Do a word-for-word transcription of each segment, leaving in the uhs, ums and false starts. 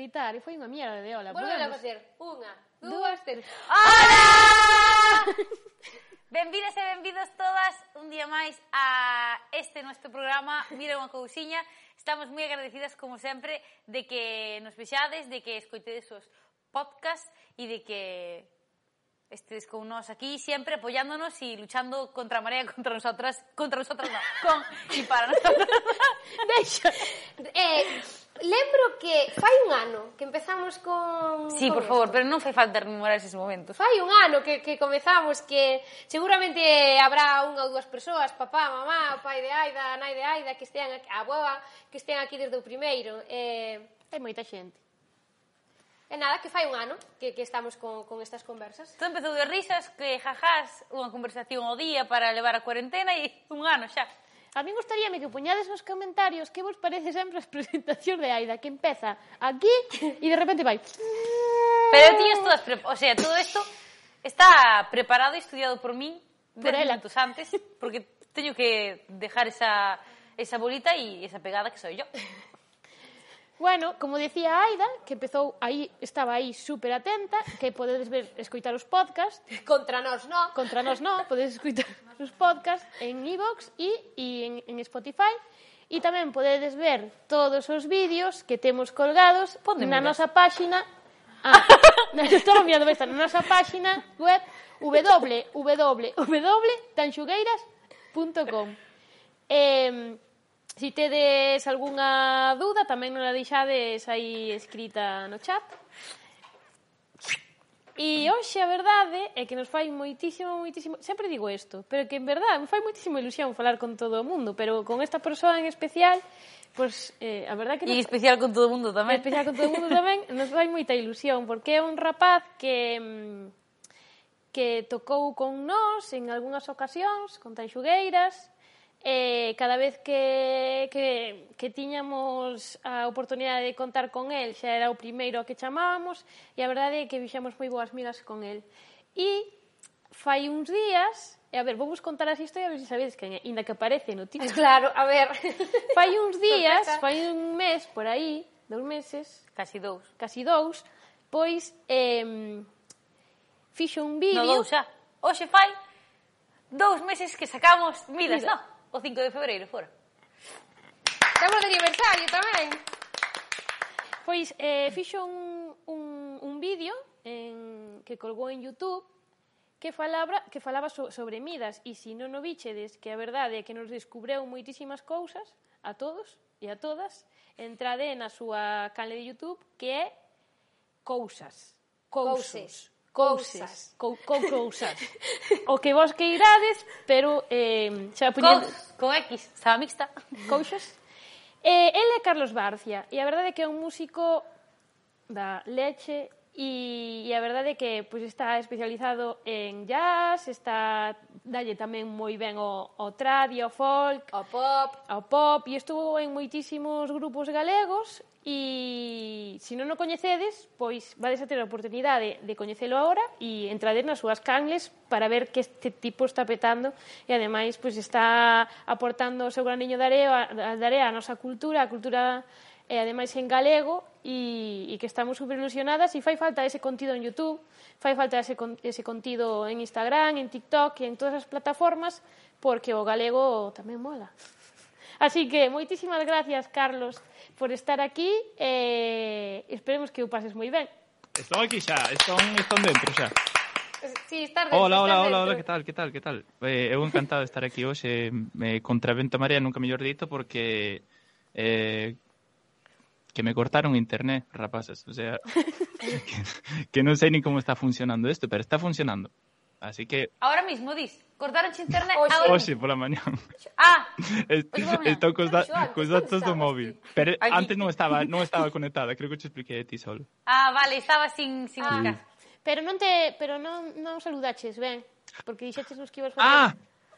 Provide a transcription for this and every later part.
editar e foi unha mierda de ola. Volve a facer unha, dúas, tres. ¡Hola! Benvidas e benvidos todas un día máis a este nuestro programa Mira unha cousiña. Estamos moi agradecidas, como sempre, de que nos vexades, de que escoitedes os podcasts e de que estedes con nós aquí sempre apoyándonos e luchando contra a marea, contra nosotras, contra nosotras non, con e para nosotras. Deixa. Eh, lembro que fai un ano que empezamos con... Sí, con por favor, esto. pero non fai falta rememorar eses momentos. Fai un ano que, que comezamos, que seguramente habrá unha ou dúas persoas, papá, mamá, o pai de Aida, a nai de Aida, que estean aquí, a boa, que estean aquí desde o primeiro. Eh, Hai moita xente. E nada, que fai un ano que, que estamos con, con estas conversas. Todo empezou de risas, que jajás, unha conversación ao día para levar a cuarentena e un ano xa. A mí gustaríame que poñades nos comentarios que vos parece sempre as presentacións de Aida, que empeza aquí e de repente vai... Pero tiñas todas... Pre... O sea, todo isto está preparado e estudiado por min Por dez ela. minutos antes, porque teño que dejar esa, esa bolita e esa pegada que soy yo. Bueno, como decía Aida, que empezou aí, estaba aí super atenta, que podedes ver, escoitar os podcasts, Contra nós, non? contra nós non, podedes escoitar os podcasts en iVoox e, e en, en Spotify, e tamén podedes ver todos os vídeos que temos colgados Ponde na miras. nosa páxina, ah, estaba mirando esta, na nosa páxina web w w w punto tanxugueiras punto com. Eh, Si tedes algunha dúda, tamén non la deixades aí escrita no chat. E hoxe a verdade é que nos fai moitísimo, moitísimo... Sempre digo isto, pero que en verdade me fai moitísimo ilusión falar con todo o mundo, pero con esta persoa en especial, pois, eh, a verdade que... E nos... especial con todo o mundo tamén. En especial con todo o mundo tamén, nos fai moita ilusión, porque é un rapaz que que tocou con nós en algunhas ocasións, con Tanxugueiras. Eh, cada vez que, que, que tiñamos a oportunidade de contar con el, xa era o primeiro que chamábamos, e a verdade é que fixamos moi boas migas con el. E fai uns días, e a ver, vou vos contar as historias, a ver se sabedes que ainda que aparece no título. Claro, a ver. Fai uns días, fai un mes por aí, dous meses, Casi dous. casi dous, pois eh, fixo un vídeo... No dous xa. Hoxe fai dous meses que sacamos Midas, Mira. no? O cinco de febreiro, fora. Estamos de aniversario tamén. Pois eh, fixo un, un, un vídeo en, que colgou en YouTube que falaba, que falaba so, sobre Midas, e se non o bichedes, que a verdade é que nos descubreu moitísimas cousas a todos e a todas, entrade na súa canle de YouTube, que é Cousas. Cousos. Cousas. Co, co, cousas. O que vos que irades, pero eh, xa poñendo... Con, con X, estaba mixta. Cousas. Eh, ele é Carlos Barcia, e a verdade é que é un músico da leche, e, e a verdade é que pois, está especializado en jazz, está dalle tamén moi ben o, o trad e o folk, O pop. ao pop, e estuvo en moitísimos grupos galegos, e se non o coñecedes, pois vades a ter a oportunidade de coñecelo agora e entrades nas súas canles para ver que este tipo está petando, e ademais pois está aportando o seu graniño de area, de area a nosa cultura, a cultura e ademais en galego, e, e que estamos super ilusionadas, e fai falta ese contido en YouTube, fai falta ese, ese contido en Instagram, en TikTok e en todas as plataformas, porque o galego tamén mola. Así que moitísimas gracias, Carlos, por estar aquí, e esperemos que o pases moi ben. Estou aquí xa, estón, estón dentro xa. Sí, estar dentro, Hola, hola, estar hola, dentro. hola, que tal, que tal, que tal? Eh, eu encantado de estar aquí hoxe, eh, contra vento e marea, nunca mellor dito, porque eh, que me cortaron internet, rapazas, o sea, que, que non sei ni como está funcionando isto, pero está funcionando. Así que, Ahora mismo, dis, cortaron internet Oxe. agora hoxe pola mañá, Ah, est- Oxe, pola mañá. estou cos, da, Xoan, cos onde datos do estabas móvil. ti? Pero Aquí. antes non estaba, non estaba conectada, creo que te expliquei a ti solo. ah, vale, estaba sin, sin Ah. buscar. Pero non te, pero non, non saludaches, ben, porque dixeches nos que ibas facer... Ah!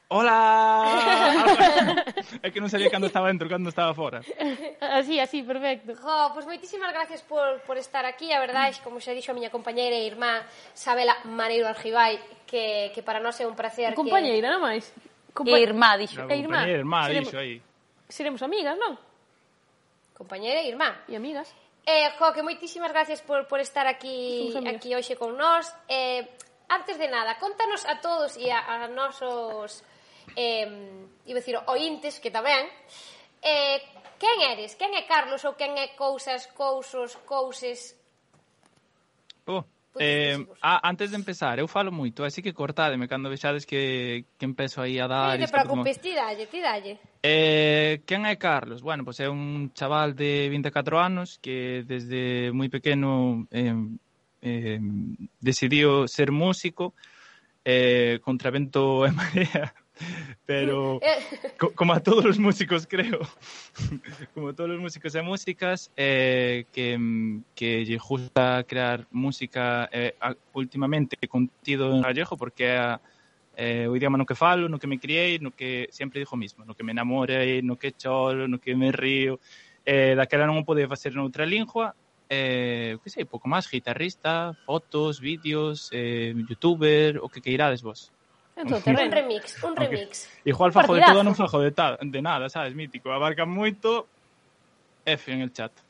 Hola! É que non sabía cando estaba dentro, cando estaba fora. Así, así, perfecto. Jo, pois moitísimas gracias por, por estar aquí. A verdade, como xa dixo a miña compañeira e irmá Sabela Maneiro Argibay, que, que para nós é un placer. Compañeira, non máis? E irmá, dixo. Na E irmá. compañera, irmá, Seremos- dixo aí. Seremos amigas, non? Que... Compañeira e irmá. E amigas. Eh, jo, que moitísimas gracias por, por estar aquí, Somos amigos. aquí hoxe con nós. Eh, antes de nada, contanos a todos e a, a nosos eh, iba a dicir ointes, que tamén, eh, quen eres? Quen é Carlos ou quen é cousas, cousos, couses? Oh, Puntos eh, físicos. a, antes de empezar, eu falo moito, así que cortádeme cando vexades que, que empezo aí a dar... Non te isto como- preocupes, ti dalle, ti dalle. Eh, quen é Carlos? Bueno, pois é un chaval de vinte e catro anos que desde moi pequeno eh, eh, decidiu ser músico eh, contra vento e marea, pero Eh, co como a todos os músicos, creo, como a todos os músicos e músicas, eh, que, que lle gusta crear música eh, a, últimamente contido en gallego, porque é a eh, o idioma no que falo, no que me criei, no que sempre digo o mismo, no que me enamorei, no que choro, no que me río, eh, daquela non o podía facer noutra lingua, eh, que sei, pouco máis, guitarrista, fotos, vídeos, eh, youtuber, o que queirades vos. En todo un terreno. remix, un Ok. remix. Igual Un fajo de partidazo. todo, non fajo de, ta, de nada, sabes, mítico, abarca moito, F en el chat.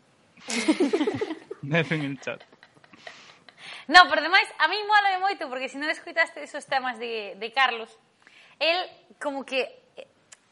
F en el chat. No, por demais, a mí mola moito, porque se non escoitaste esos temas de, de Carlos, el como que eh,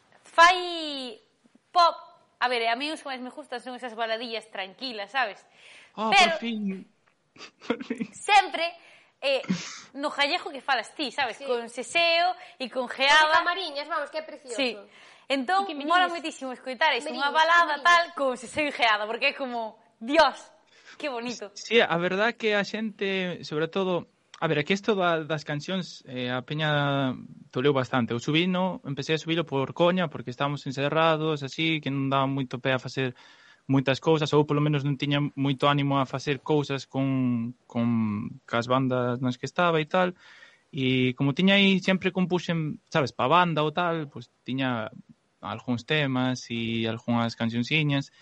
fai pop. A ver, a mí os que máis me gustan son esas baladillas tranquilas, sabes? Oh, Pero- por fin. Por fin. Sempre eh, no gallego que falas ti, sabes? Sí. Con seseo e con De geada. Camariñas, vamos, que é precioso. Sí. Entón, E que mola meniñas. moitísimo escoitar eso, unha Meniñas, balada meniñas. tal con seseo e geada, porque é como, Dios, que bonito. Sí, a verdad que a xente, sobre todo, a ver, aquí isto da, das cancións, eh, a peña toleu bastante. Eu subino, empecé a subilo por coña, porque estábamos encerrados, así, que non daba moito pé a facer moitas cousas, ou polo menos non tiña moito ánimo a facer cousas con, con cas bandas nas que estaba e tal. E como tiña aí, sempre compuxen, sabes, pa banda ou tal, pois tiña algúns temas e algunhas canciónsiñas.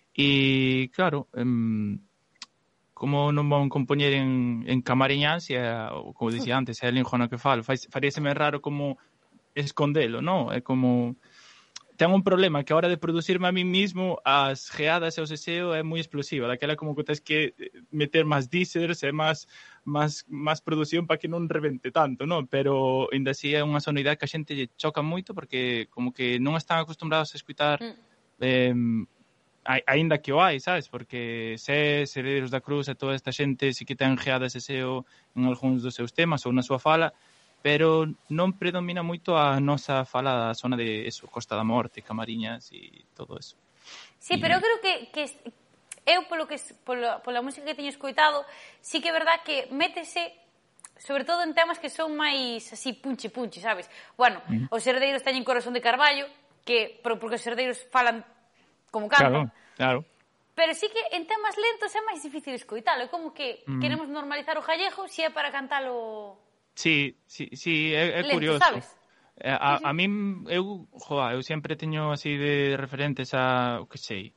E, claro, em, como non vão compoñer en, en camariñas, e, ou, como dicía antes, é a lingua no que falo, faríaseme raro como escondelo, non? É como... Ten un problema que a hora de producirme a mí mismo as geadas e o seseo é moi explosiva, daquela como que tens que meter máis dísers e máis máis máis produción para que non rebente tanto, non? Pero ainda así é unha sonoridade que a xente lle choca moito porque como que non están acostumbrados a escutar Mm. eh, ai- aínda que o hai, sabes? Porque se Heredeiros da Cruz e toda esta xente si que ten geadas e seseo en algúns dos seus temas ou na súa fala, pero non predomina moito a nosa fala da zona de eso, Costa da Morte, Camariñas e todo eso. Sí, pero eu creo que, que eu polo que polo, pola música que teño escoitado, sí que é verdad que métese sobre todo en temas que son máis así punchi punchi, sabes? Bueno, Mm. os herdeiros teñen Corazón de Carballo, que pero porque os herdeiros falan como Claro, cantan. claro. Pero sí que en temas lentos é máis difícil escoitalo, é como que Mm. queremos normalizar o gallego se é para cantalo Sí, sí, sí, é, é lento, curioso. sabes? Eh, A, a min, eu, joa, eu sempre teño así de referentes a, o que sei,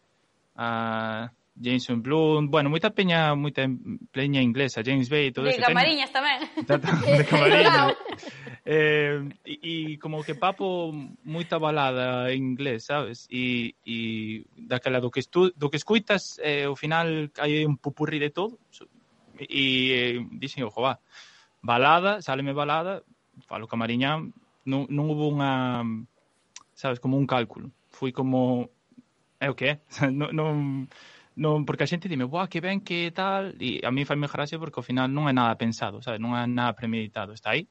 a Jason Blum, bueno, moita peña, moita peña inglesa, James Bay, todo De eso. Camariñas tamén. De Camariñas. eh, e, e como que papo moita balada en inglés, sabes? E, e daquela do que, estu, do que escuitas, eh, ao final hai un pupurri de todo. E eh, dixen, ojo, va, balada, sáleme balada, falo camariñán, non, non hubo unha, sabes, como un cálculo. Fui como, é o que é? non, non, non, porque a xente dime, buah, que ben, que tal, e a mí faime gracia porque ao final non é nada pensado, sabes, non é nada premeditado, está aí.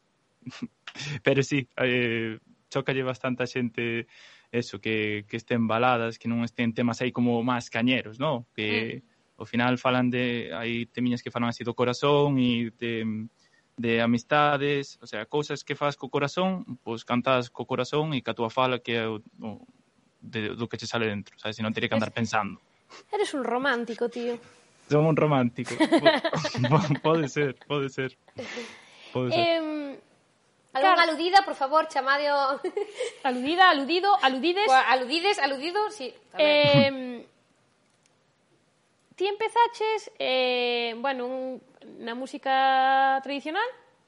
Pero sí, eh, chocalle bastante a xente eso, que, que estén baladas, que non estén temas aí como máis cañeros, non? Que mm. ao final falan de, hai temiñas que falan así do corazón e de, de amistades, o sea, cousas que faz co corazón, pois cantas co corazón e ca túa fala que é o, o de, do que che sale dentro, sabes? Se non teria que andar pensando. Eres un romántico, tío. Son un romántico. Pode ser, pode ser. Pode ser. Eh, Algún Claro. aludida, por favor, chamade o... aludida, aludido, aludides. Pues, aludides, aludido, sí, tamén. Eh, ti empezaches, eh, bueno, un, na música tradicional,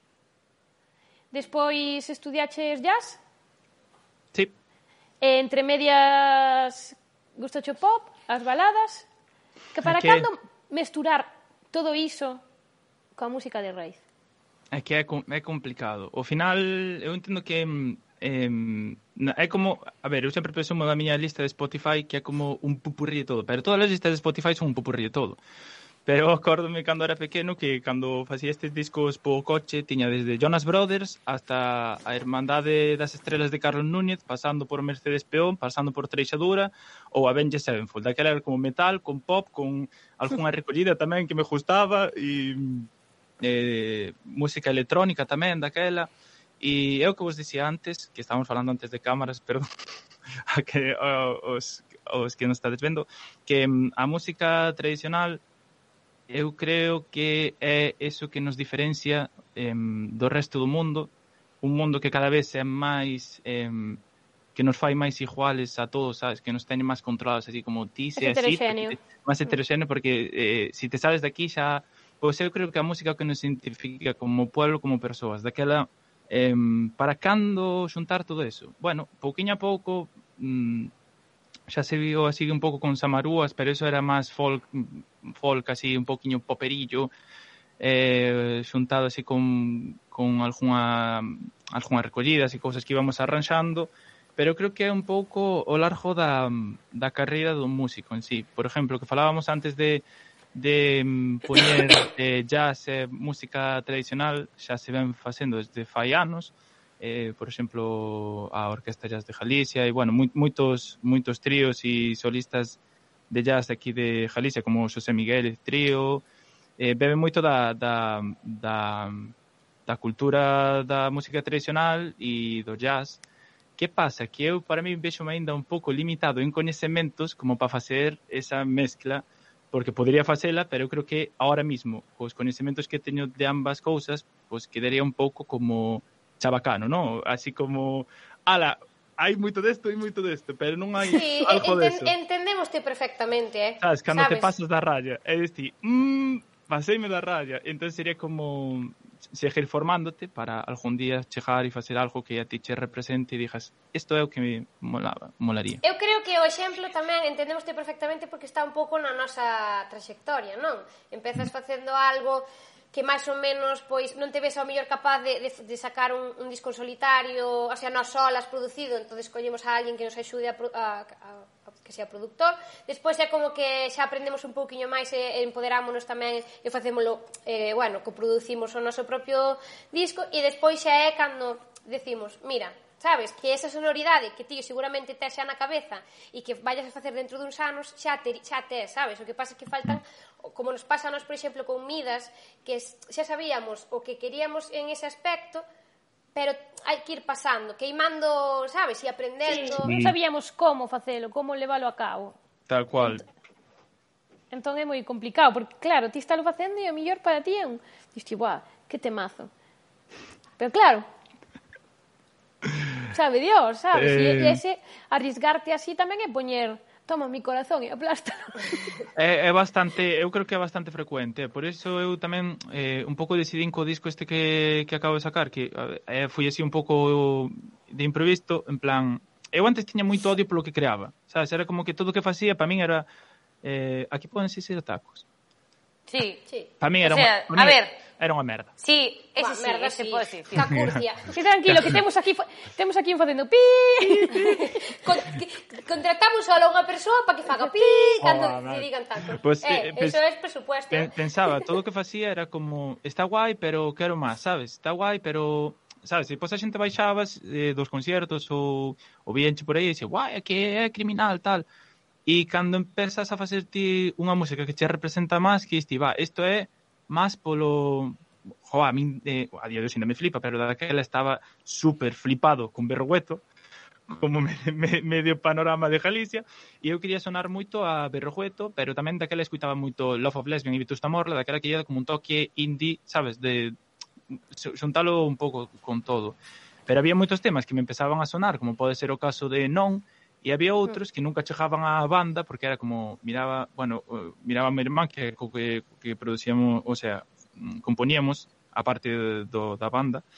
despois estudiaches jazz, Sí. e entre medias gustacho pop, as baladas, que para É que- cando mesturar todo iso coa música de raíz? É que é, é complicado. Ao final, eu entendo que eh, é como... A ver, eu sempre presumo da miña lista de Spotify que é como un pupurrí de todo, pero todas as listas de Spotify son un pupurrí de todo. Pero acórdome cando era pequeno que cando facía estes discos po coche tiña desde Jonas Brothers hasta a Irmandade das Estrelas de Carlos Núñez, pasando por Mercedes Peón, pasando por Treixadura ou Avenged Sevenfold. Daquela era como metal, con pop, con algunha recollida tamén que me gustaba e eh, música electrónica tamén daquela. E é o que vos dicía antes, que estábamos falando antes de cámaras, perdón, a que os, os que nos estades vendo, que a música tradicional eu creo que é eso que nos diferencia eh, do resto do mundo, un mundo que cada vez é máis eh, que nos fai máis iguales a todos, sabes, que nos teñen máis controlados, así como ti, é heteroxéneo. Máis heteroxéneo, porque eh, si te sales de aquí xa, pois eu creo que a música que nos identifica como pueblo, como persoas, daquela, eh, para cando xuntar todo eso? Bueno, pouquiño a pouco, mm, xa se viu así un pouco con Samarúas, pero eso era máis folk, folk así un poquinho poperillo, eh, xuntado así con, con algunha, algunha recollidas e cousas que íbamos arranxando, pero creo que é un pouco ao largo da, da carreira do músico en sí. Por exemplo, que falábamos antes de, de poñer eh, jazz e eh, música tradicional, xa se ven facendo desde fai anos, Eh, por exemplo, a Orquesta Jazz de Galicia e, bueno, moitos, moitos tríos e solistas de jazz aquí de Galicia, como Xosé Miguel Trío, eh, bebe moito da, da, da, da cultura da música tradicional e do jazz. Que pasa? Que eu, para mí, vexo ainda un pouco limitado en coñecementos como para facer esa mezcla, porque podría facela, pero eu creo que ahora mismo, os coñecementos que teño de ambas cousas, pues quedaría un pouco como chabacano, ¿no? Así como, ala, hai moito desto e moito desto, pero non hai sí, algo enten, deso. Entendemoste perfectamente, eh? Sabes, cando Sabes? te pasas da raya, é dicir, mmm, paseime da raya, entón sería como seguir formándote para algún día chegar e facer algo que a ti che represente e digas, isto é o que me molaba, molaría. Eu creo que o exemplo tamén entendemoste perfectamente porque está un pouco na nosa trayectoria, non? Empezas facendo algo que máis ou menos pois non te ves ao mellor capaz de, de, de sacar un, un disco solitario, o sea, nós solas producido, entón escollemos a alguén que nos axude a, a, a, a que sea productor. Despois é como que xa aprendemos un pouquiño máis e, e empoderámonos tamén e facémolo, eh, bueno, que producimos o noso propio disco e despois xa é cando decimos, mira, sabes, que esa sonoridade que ti seguramente tes xa na cabeza e que vayas a facer dentro duns anos xa te, xa tes, sabes? O que pasa é que faltan, como nos pasa a nos, por exemplo, con Midas, que xa sabíamos o que queríamos en ese aspecto, pero hai que ir pasando, queimando, sabes, e aprendendo. Sí, non sabíamos como facelo, como leválo a cabo. Tal cual. Entón é moi complicado, porque claro, ti estás facendo e o mellor para ti é un... Diste, buah, que temazo. Pero claro, sabe Dios, sabes? Eh... E ese arriesgarte así tamén é poñer, toma mi corazón e aplástalo. É, é bastante, eu creo que é bastante frecuente, por iso eu tamén eh, un pouco decidín co disco este que, que acabo de sacar, que eh, fui así un pouco de improviso, en plan, eu antes tiña moito odio polo que creaba, sabes? Era como que todo o que facía, para min era, eh, aquí poden ser tacos. Sí, sí. Para min era, o sea, unha, a ver, era unha merda. Sí, ese Buah, sí, merda, ese sí. pode ser. Sí. Cacurcia. Sí, tranquilo, que temos aquí temos aquí un facendo pi. Con, que, contratamos solo a unha persoa para que faga pi cando Oh, te digan tacos. Pues, eh, eh, eso é presupuesto. Pe- pensaba, todo o que facía era como, está guai, pero quero máis, sabes? Está guai, pero, sabes, se depois a xente baixabas eh, dos conciertos ou, ou vienche por aí e dixe, guai, é que é criminal, tal. E cando empezas a facer ti unha música que che representa máis, que diste, va, isto é máis polo... Jo, a min, eh, a día de hoxe ainda me flipa, pero daquela estaba super flipado con Berrogueto, como me, me, medio panorama de Galicia, e eu quería sonar moito a Berrogueto, pero tamén daquela escuitaba moito Love of Lesbian e Vetusta Morla, daquela que ía como un toque indie, sabes, de xuntalo un pouco con todo. Pero había moitos temas que me empezaban a sonar, como pode ser o caso de Non, e había outros que nunca chegaban á banda, porque era como, miraba, bueno, miraba a mi irmán que, que, que producíamos, o sea, componíamos, a parte do, da banda,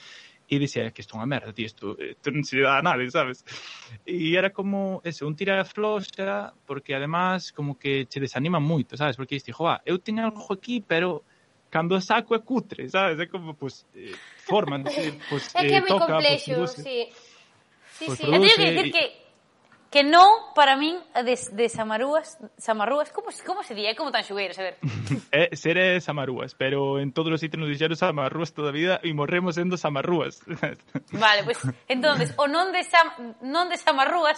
e dicía que isto é unha merda, tío, isto, isto non se dá a nadie, sabes? E era como, eso, un tira floxa, porque además como que che desanima moito, sabes? Porque diste, joa, eu teño algo aquí, pero cando o saco é cutre, sabes? É como, pues, eh, forman, pues, É que é eh, moi toca, complexo, pues, produce. sí. Sí, Pues sí. Eu teño produce que dicir e- que que non, para min, de, de Samarúas, Samarúas, como, como se di? É como tan xugueiras, a ver. É, ser é Samarúas, pero en todos os sitios nos dixeron Samarúas toda a vida e morremos sendo Samarúas. Vale, pois, pues, entonces, o non de, Sam, non de Samarúas,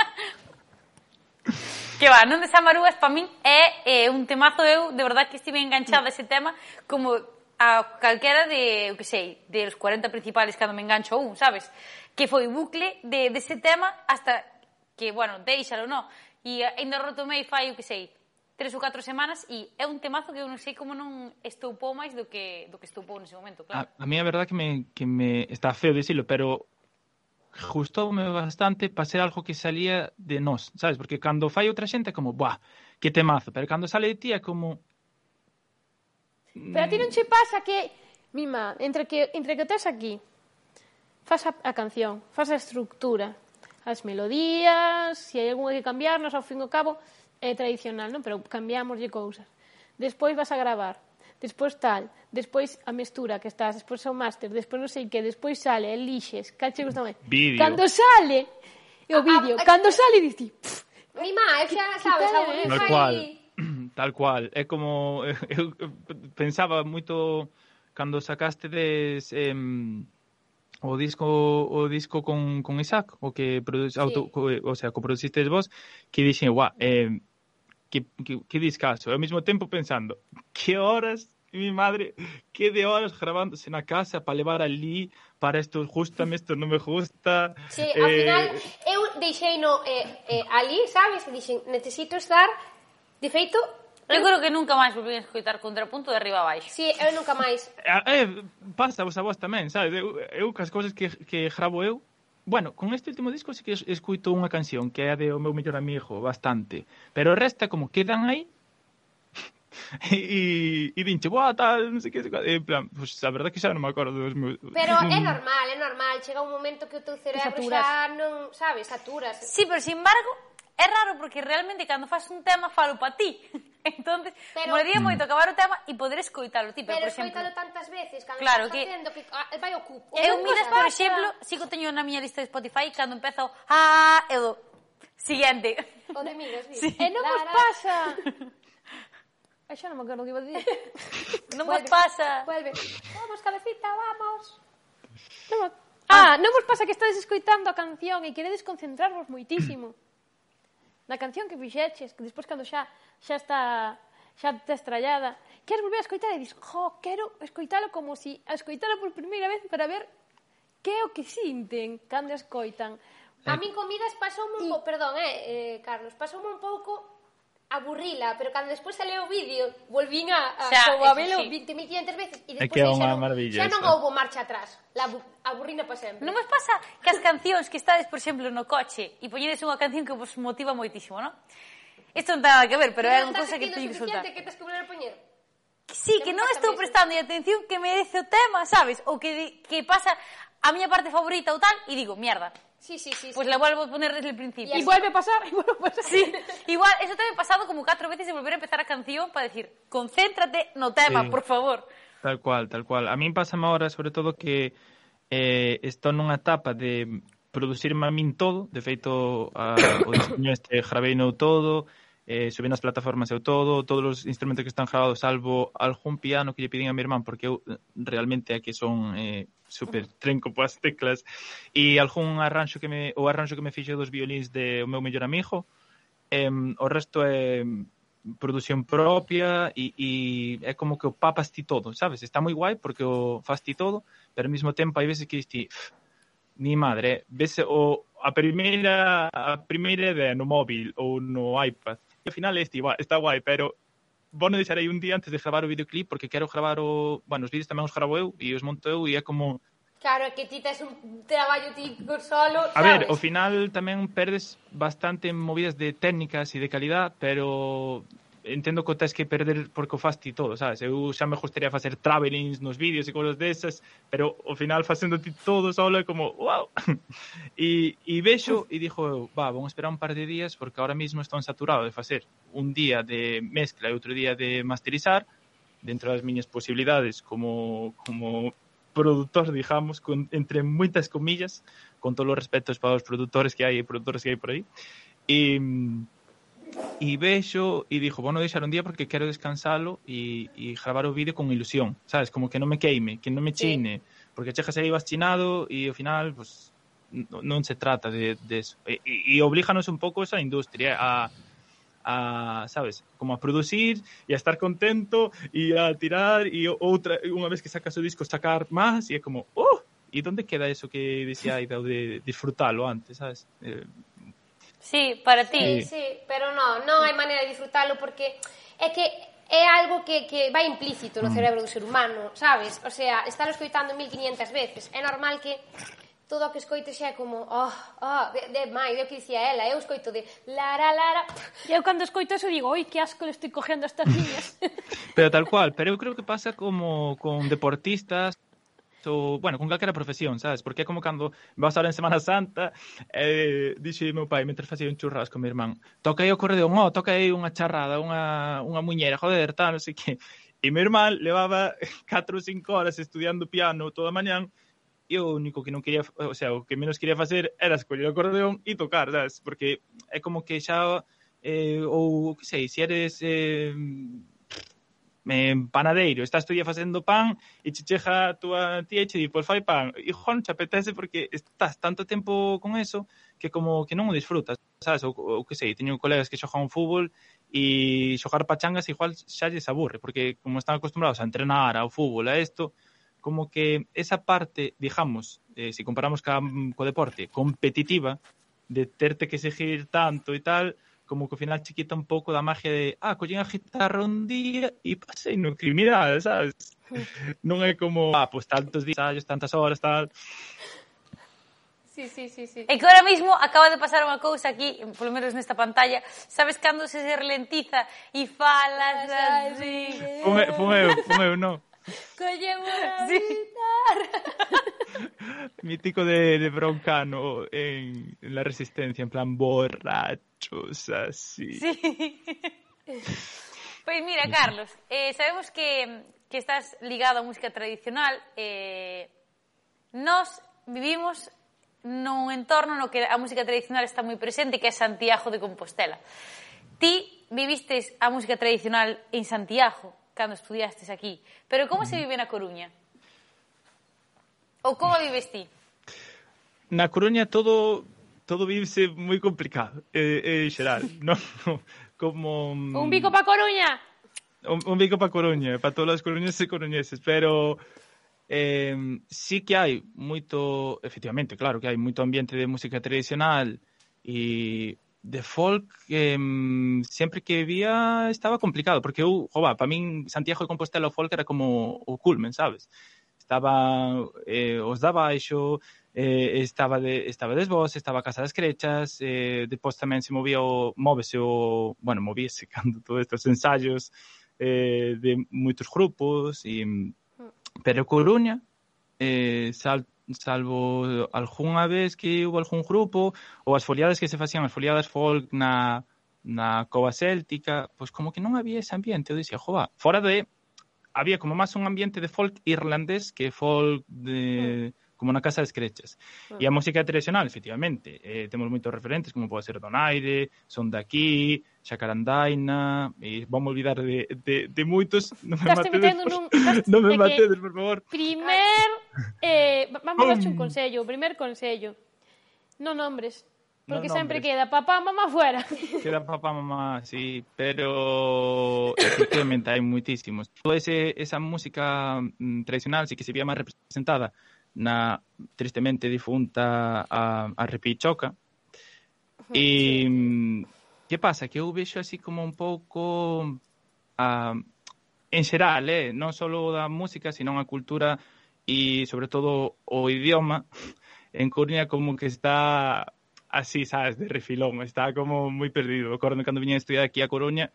que va, non de Samarúas, para min é eh, un temazo, eu, de verdad que estive enganchada a ese tema, como a calquera de, eu que sei, de los cuarenta principales cando me engancho a un, sabes? Que foi bucle de, de ese tema hasta que, bueno, deixalo, non? E ainda retomei fai, eu que sei, tres ou catro semanas e é un temazo que eu non sei como non estoupou máis do que do que estoupou nese momento, claro. A, a mí a verdad que me, que me está feo dicilo, pero gustoume bastante para ser algo que salía de nós, sabes? Porque cando fai outra xente é como, buah, que temazo, pero cando sale de ti é como... Pero a ti non che pasa que, mima, entre que, entre que tes aquí, faz a, a canción, faz a estructura, as melodías, se hai algunha que cambiarnos, ao fin e ao cabo, é tradicional, non? Pero cambiámoslle cousas. Despois vas a gravar, despois tal, despois a mestura que estás, despois o máster, despois non sei que, despois sale, elixes, cal che gusta máis. Vídeo. Cando sale o vídeo, Ah, ah, cando sale, dices, pff, Mi má, eu xa sabes, tal a é? Tal fai... cual, tal cual. É como, eu pensaba moito cando sacaste des... Eh, o disco o disco con, con Isaac, o que produ- Sí. auto, co, o sea, coproducistes vos, que dixen, guau, eh, que, que, que discazo. Ao mesmo tempo pensando, que horas, mi madre, que de horas grabándose na casa para levar ali, para isto gustame, isto non me gusta. Sí, ao eh, final, eu deixei no eh, eh, ali, sabes? E dixen, necesito estar... De feito, Eu creo que nunca máis volví a escoitar Contrapunto de arriba a baixo. si, eu nunca máis. Eh, pasa vos a vos tamén, sabes? Eu, eu cas cousas que, que gravo eu, bueno, con este último disco sí que escuito unha canción que é a de O meu mellor amigo, bastante, pero o resto como quedan aí e, e dinche, boa, tal, non sei que, en plan, pues a verdade que xa non me acordo dos meus... Pero non- é normal, é normal. Chega un momento que o teu cerebro saturas. xa non, sabes, saturas. Sí, pero sin embargo, é raro porque realmente cando fas un tema falo pa ti. Entonces, Pero- molaría moito acabar o tema e poder escoitalo ti, pero, Pero por exemplo, escoítalo tantas veces, cando Claro, estás que- facendo que ah, vai o cupo. eu Non miras, pasa. por exemplo, sigo teño na miña lista de Spotify cando empezo ah, eu do siguiente. O de migas, Sí. e non vos pasa. Ai, xa non me acordo o que iba a dicir. Non vos Vuelve, pasa. Vuelve. Vamos, cabecita, vamos. Non me... Ah, non vos pasa que estades escoitando a canción e queredes concentrarvos moitísimo na canción que fixeches, que despois cando xa xa está xa está estrallada, queres volver a escoitar e dis, jo, quero escoitalo como si a escoitalo por primeira vez para ver que é o que sinten cando a escoitan. A min comidas pasoume un pouco, perdón, eh, eh, Carlos, pasoume un pouco aburrila, pero cando despois sale o vídeo, volvín a, a, Xa, como a eso velo sí. veinte mil quinientas veces e É despois que é aí xa unha non, maravilla xa non esa. houbo marcha atrás. La abu- aburrina para sempre. Non vos pasa que as cancións que estades, por exemplo, no coche e poñedes unha canción que vos motiva moitísimo, non? Isto non ten nada que ver, pero é unha Estás cousa que sentindo teño que soltar. suficiente que tes que volver a poñer. Sí, que non estou prestando atención que merece o tema, sabes? Ou que, di- que pasa a miña parte favorita ou tal e digo, mierda, Sí, sí, sí. pues sí. la vuelvo a poner desde el principio. E vuelve a pasar, e vuelve a pasar. Sí, igual, eso te ha pasado como cuatro veces de volver a empezar a canción para decir, concéntrate no tema, Sí. por favor. Tal cual, tal cual. A min pásame ahora, sobre todo, que eh, estou nunha etapa de producirme a min todo. De feito, a, o diseño este graveino todo, eh, subí nas plataformas eu todo, todos os instrumentos que están gravados, salvo algún piano que lle piden a mi irmán, porque eu realmente é que son eh, super trenco poas teclas, e algún arranxo que me, o arranxo que me fixe dos violíns de O meu mellor amigo. Eh, o resto é produción propia e, e é como que o papas ti todo, sabes? Está moi guai porque o fas ti todo, pero ao mesmo tempo hai veces que dis ti, mi madre, ves o a primeira a primeira idea no móvil ou no iPad. E ao final este, va, está guai, pero vou non deixar aí un día antes de gravar o videoclip porque quero gravar o, bueno, os vídeos tamén os gravo eu e os monto eu e é como Claro, é que ti tes un traballo ti solo, a ver, sabes? ao final tamén perdes bastante en movidas de técnicas e de calidad, pero entendo que o tes que perder porque o faz ti todo, sabes? Eu xa me gustaría facer travelings nos vídeos e cousas desas, pero ao final facendo ti todo solo é como, wow! e, e vexo e dixo eu, va, vamos esperar un par de días porque ahora mismo estou saturado de facer un día de mezcla e outro día de masterizar dentro das miñas posibilidades como, como produtor, digamos, con, entre moitas comillas, con todos os respetos para os produtores que hai e produtores que hai por aí. E, e vexo e dixo, bueno, deixar un día porque quero descansalo e, e gravar o vídeo con ilusión, sabes? Como que non me queime, que non me chine, sí. Porque chegas aí vas chinado e ao final, pues, non se trata de, de eso. E, e, e oblíganos un pouco esa industria a a, sabes, como a producir e a estar contento e a tirar e outra, unha vez que sacas o disco sacar máis e é como, oh, e onde queda eso que decía Aida de disfrutalo antes, sabes? Eh, sí, para ti. Sí, sí, pero non, non hai maneira de disfrutalo porque é que é algo que, que vai implícito no cerebro do ser humano, sabes? O sea, estálo escoitando mil quinientas veces. É normal que todo o que escoite xa é como, oh, oh, de, de máis, é o que dicía ela, eu escoito de lara, lara. E eu cando escoito eso digo, oi, que asco le estoy cogiendo a estas niñas. Pero tal cual, pero eu creo que pasa como con deportistas, o, bueno, con calquera profesión, sabes? Porque é como cando vas ahora en Semana Santa, eh, dixe meu pai, mentre facía un churrasco, meu irmán, toca aí o corredeón, oh, toca aí unha charrada, unha, unha muñera, joder, tal, non sei que. E meu irmán levaba catro ou cinco horas estudiando piano toda a mañán, e o único que non quería, o sea, o que menos quería facer era escoller o acordeón e tocar, sabes? Porque é como que xa, eh, ou, que sei, se eres eh, eh, panadeiro, estás todo día facendo pan e che chega a túa tía e che di, pois fai pan, e non che apetece porque estás tanto tempo con eso que como que non o disfrutas, sabes? Ou, ou que sei, teño colegas que xogan fútbol e xogar pachangas igual xa lles aburre, porque como están acostumbrados a entrenar ao fútbol, a isto, como que esa parte, digamos, eh, si comparamos ca, co deporte, competitiva, de terte que seguir tanto e tal, como que ao final che quita un pouco da magia de, ah, collín a guitarra un día e pasei no criminal, sabes? Non é como, ah, pues tantos días, tantas horas, tal. Sí, sí, sí, sí. E que ahora mismo acaba de pasar unha cousa aquí, polo menos nesta pantalla, sabes cando se ralentiza e falas así? Fun eu, fun eu, fun eu, non. Collemos a Sí. guitarra. Mítico de, de Broncano en, en La Resistencia, en plan borrachos, así. Sí. Pois mira, Carlos, eh, sabemos que, que estás ligado á música tradicional. Eh, nós vivimos nun entorno no que a música tradicional está moi presente, que é Santiago de Compostela. Ti vivistes a música tradicional en Santiago, cando estudiastes aquí. Pero como se vive na Coruña? Ou como vives ti? Na Coruña todo todo vivese moi complicado, eh, en xeral, non? Como Un bico pa Coruña. un, un bico pa Coruña, para todos os coruñeses e coruñeses, pero eh, sí que hai moito, efectivamente, claro que hai moito ambiente de música tradicional e de folk, eh, sempre que vivía estaba complicado, porque eu, jova, para min Santiago de Compostela o folk era como o culmen, sabes? Estaba eh, os da baixo, eh, estaba de, estaba des vos, estaba a Casa das Crechas, eh, depois tamén se movía o, móvese o, bueno, movíase cando todos estes ensaios eh, de moitos grupos, e, pero Coruña, eh, sal salvo algunha vez que hubo algún grupo ou as foliadas que se facían, as foliadas folk na, na cova céltica, pois como que non había ese ambiente. Eu dicía, jova, fora de había como máis un ambiente de folk irlandés que folk de como na Casa das Crechas. E a música tradicional, efectivamente, eh, temos moitos referentes, como pode ser Donaire, Son de Aquí, Xacarandaina, e vamos olvidar de, de, de moitos. Non me Estás matedes, metendo por, nun... non me é que matedes, por favor. Primer... Eh, vamos a darche un consello. Primer consello. Non nombres. Porque Non sempre nombres. queda papá, mamá fuera. Queda papá, mamá, sí, pero efectivamente hai moitísimos. Toda ese, esa música mm, tradicional sí que se vía máis representada na tristemente difunta a, a Repichoca. E que pasa? Que eu vexo así como un pouco a, en xeral, eh? non só da música, sino a cultura e sobre todo o idioma en Coruña como que está así, sabes, de refilón, está como moi perdido. Acordo cando viña a estudiar aquí a Coruña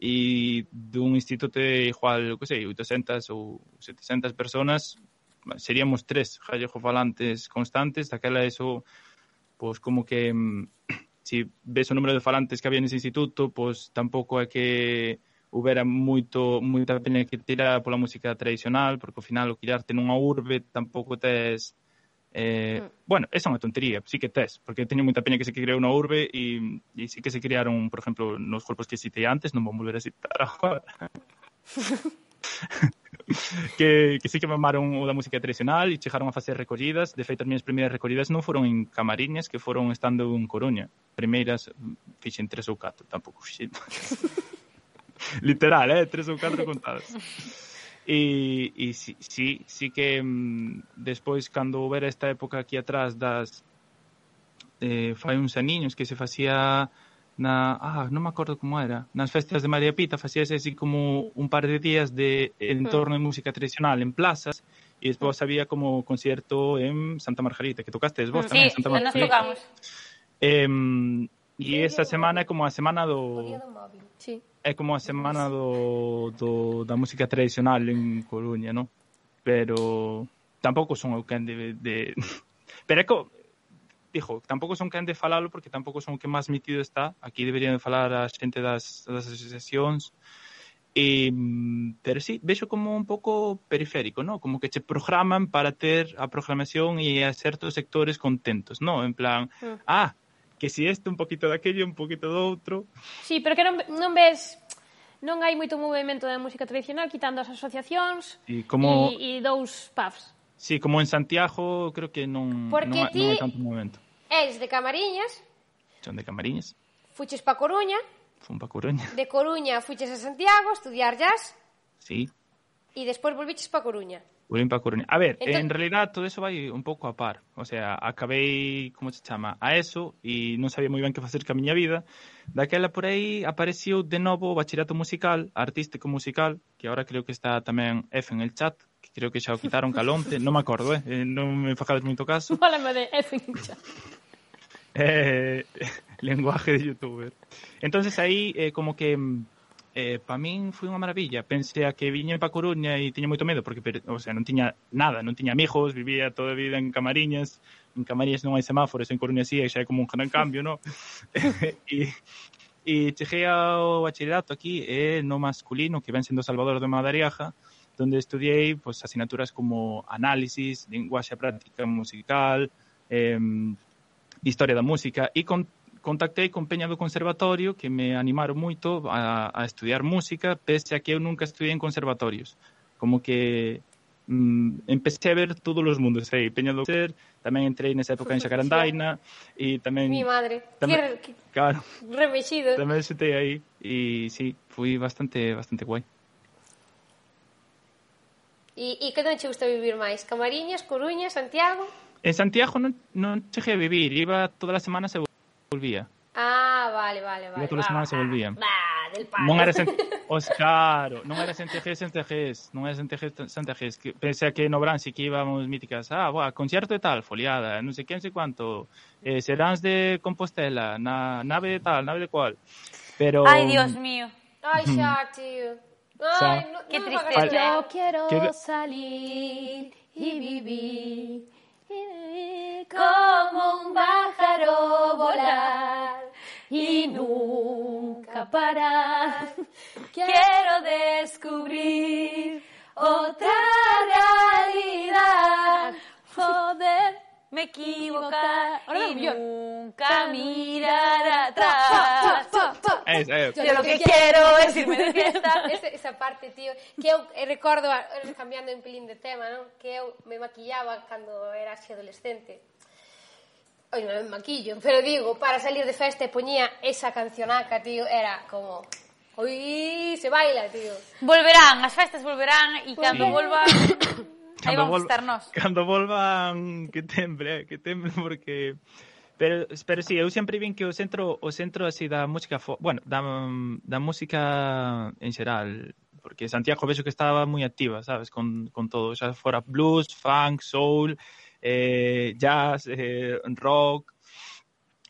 e dun instituto de igual, que sei, oitocentas ou setecentas personas, seríamos tres gallego-falantes constantes, daquela eso, pois como que, si ves o número de falantes que había nese instituto, pois tampouco é que houbera moito, moita pena que tirar pola música tradicional, porque ao final o criarte nunha urbe tampouco tes... Eh, mm. Bueno, esa é unha tontería, sí que tes, porque teño moita peña que se creou na urbe e, e sí que se crearon, por exemplo, nos grupos que citei antes, non vou volver a citar agora. que, que sí que mamaron o da música tradicional e chegaron a facer recollidas. De feito, as minhas primeiras recollidas non foron en Camariñas, que foron estando en Coruña. Primeiras fixen tres ou catro, tampouco fixen. Literal, eh? Tres ou catro contadas. E, e sí, sí, sí que mm, despois, cando houbera esta época aquí atrás das eh, fai uns aniños que se facía na, ah, non me acordo como era, nas festas de María Pita facíase así como un par de días de entorno de música tradicional en plazas e despois había como concierto en Santa Margarita, que tocaste vos sí, tamén, Santa Margarita. Sí, nos tocamos. Eh, e esa semana é como a semana do... Sí. É como a semana do, do, da música tradicional en Coruña, non? Pero tampouco son o quen de... de... Pero é que, dijo, tampouco son quen de falalo porque tampouco son o que máis metido está. Aquí deberían de falar a xente das, das asociacións. E, pero sí, vexo como un pouco periférico, non? Como que che programan para ter a programación e a certos sectores contentos, non? En plan, mm. ah, que si este un poquito daquello, un poquito do outro. Sí, pero que non, non ves... Non hai moito movimento da música tradicional, quitando as asociacións e, como... e, e dous pubs. Sí, como en Santiago, creo que non, non, non hai tanto movimento. És de Camariñas. Son de Camariñas. Fuches pa Coruña. Fun pa Coruña. De Coruña fuches a Santiago a estudiar jazz. Sí. E despois volviches pa Coruña. Volvín pa Coruña. A ver, Entonces... en realidad todo eso vai un pouco a par. O sea, acabei, como se chama, a eso e non sabía moi ben que facer ca miña vida. Daquela por aí apareciu de novo o bachillerato musical, artístico musical, que agora creo que está tamén F en el chat, que creo que xa o quitaron calonte, non me acordo, eh, non me fajades moito caso. Fálame de F en el chat. eh, lenguaje de youtuber. Entonces aí eh, como que eh, pa min foi unha maravilla. Pensei a que viña pa Coruña e tiña moito medo porque, o sea, non tiña nada, non tiña amigos, vivía toda a vida en Camariñas. En Camariñas non hai semáforos, en Coruña sí, xa é como un gran cambio, non? e, e cheguei ao bachillerato aquí e eh, no masculino, que ven sendo Salvador de Madariaga, donde estudiei pues, asignaturas como análisis, linguaxe práctica musical, eh, historia da música e con contactei con Peña do Conservatorio que me animaron moito a, a estudiar música, pese a que eu nunca estudiei en conservatorios. Como que mm, empecé a ver todos os mundos aí. Peña do Ser, tamén entrei nesa época en Xacarandaina e tamén... Mi madre, tamén, que, que claro, remexido. Tamén xetei aí e sí, fui bastante bastante guai. E, e que non che gusta vivir máis? Camariñas, Coruña, Santiago? En Santiago non, non cheguei a vivir, iba todas as semanas e volvía. Ah, vale, vale, vale. Iba todas as semanas e volvía. Va, del palo. Non era os claro, non era Santiago, Santiago, non era Santiago, Santiago, que pensé que no Bran sí que íbamos míticas, ah, boa, concierto de tal, foliada, non sei que, non sei cuánto, eh, Seráns de Compostela, na nave de tal, nave de cual. Pero Ay, Dios mío. Ay, xa, tío. Ay, no, qué no tristeza. Yo quiero ¿Qué? salir y vivir, y vivir como un pájaro volar y nunca parar. quiero descubrir otra realidad, Poder Me equivocar Ahora y no, yo. nunca mirar atrás. Es, eh, Yo lo que quiero es irme de fiesta. esa, esa parte, tío, que eu eh, recordo, eh, cambiando un pelín de tema, non? Que eu me maquillaba cando era así adolescente. Oi, non me maquillo, pero digo, para salir de festa e poñía esa cancionaca, tío, era como... Oi, se baila, tío. Volverán, as festas volverán e cando Sí. volvan aí Cando vamos a vol- estar nós. Cando volvan que temble, eh, que temble porque pero pero si sí, eu sempre vin que o centro o centro así da música, fo... bueno, da da música en xeral, porque Santiago vexo que estaba moi activa, sabes, con con todo, xa fora blues, funk, soul, eh jazz, eh, rock.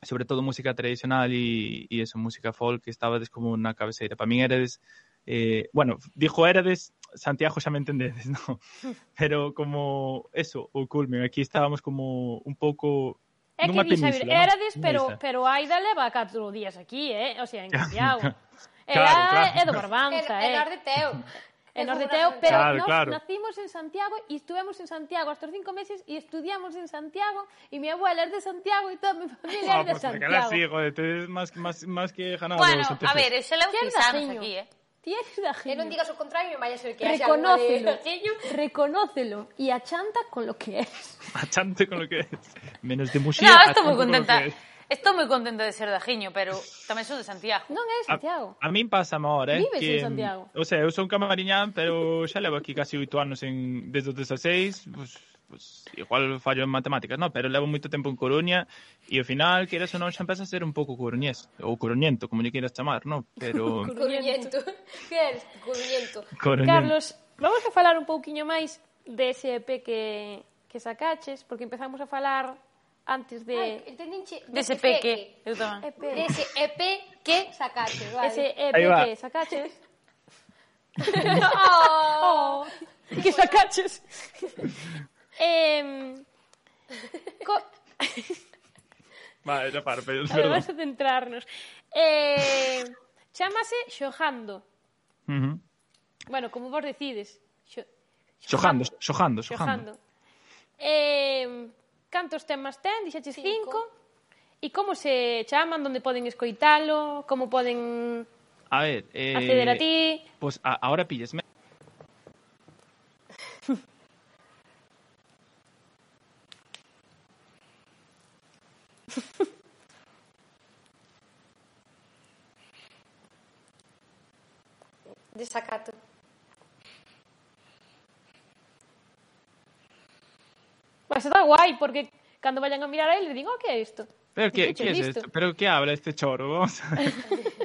sobre todo música tradicional e, e eso, música folk, que estabades como na cabeceira. Para min erades, eh, bueno, dijo erades, Santiago xa me entendedes, ¿no? Pero como eso, o culmen, aquí estábamos como un pouco É que nunha di, Xavier, península, erades, ¿no? pero, Nesa. pero Aida leva catro días aquí, eh? O sea, en Santiago. Claro, Ela claro. é do Barbanza, É eh? nor de Teo. En Nor de Teo, pero Claro, nos claro. nacimos en Santiago e estuvemos en Santiago hasta os cinco meses e estudiamos en Santiago e mi abuela é de Santiago e toda mi familia Ah, é de pues aquela Santiago. sí, joder, tú eres más, más, más que ganado. Bueno, Santiago. a ver, eu xa levo Tienes seis anos dajiño. aquí, eh? Tienes da E non digas o contrario, vaya a ser que haxa Reconócelo, Reconócelo. reconócelo y achanta con lo que es. Achante con lo que es. Menos de Muxía. No, estou moi achante con lo contenta. que es. Estou moi contenta de ser de Ajiño, pero tamén sou de Santiago. Non é de Santiago. A, a min pasa ahora, eh, Vives que, en Santiago. O sea, eu son camariñán, pero xa levo aquí casi oito anos en, desde os dezaseis, pues, pues, igual fallo en matemáticas, no, pero levo moito tempo en Coruña e ao final, queres ou non, xa empeza a ser un pouco coruñés, ou coruñento, como lle queiras chamar, no? Pero... Coruñento. Que eres? Coruñento. coruñento. Carlos, vamos a falar un pouquiño máis dese E P que, que sacaches, porque empezamos a falar antes de... Ai, entendinche? Dese peque. Eu tamén. E P. Dese E P que sacaste, vale. Ese E P Aí va. que sacaches. Oh. Oh, que sacaches. eh, co... Vale, xa paro, pero, A ver, perdón. vamos a centrarnos. Eh, chámase Xojando. Uh -huh. Bueno, como vos decides. Xo... Xojando, xojando, xojando. Xojando. Eh, cantos temas ten? Dixaches Cinco. cinco. E como se chaman? Donde poden escoitalo? Como poden A ver, eh... acceder a ti? Pues a, ahora pillesme. Desacato. Pues está guai, porque cando vayan a mirar a él, le digo, oh, que é isto? Pero que, Dicho, que es listo. esto? Pero que habla este choro? Vamos a ver.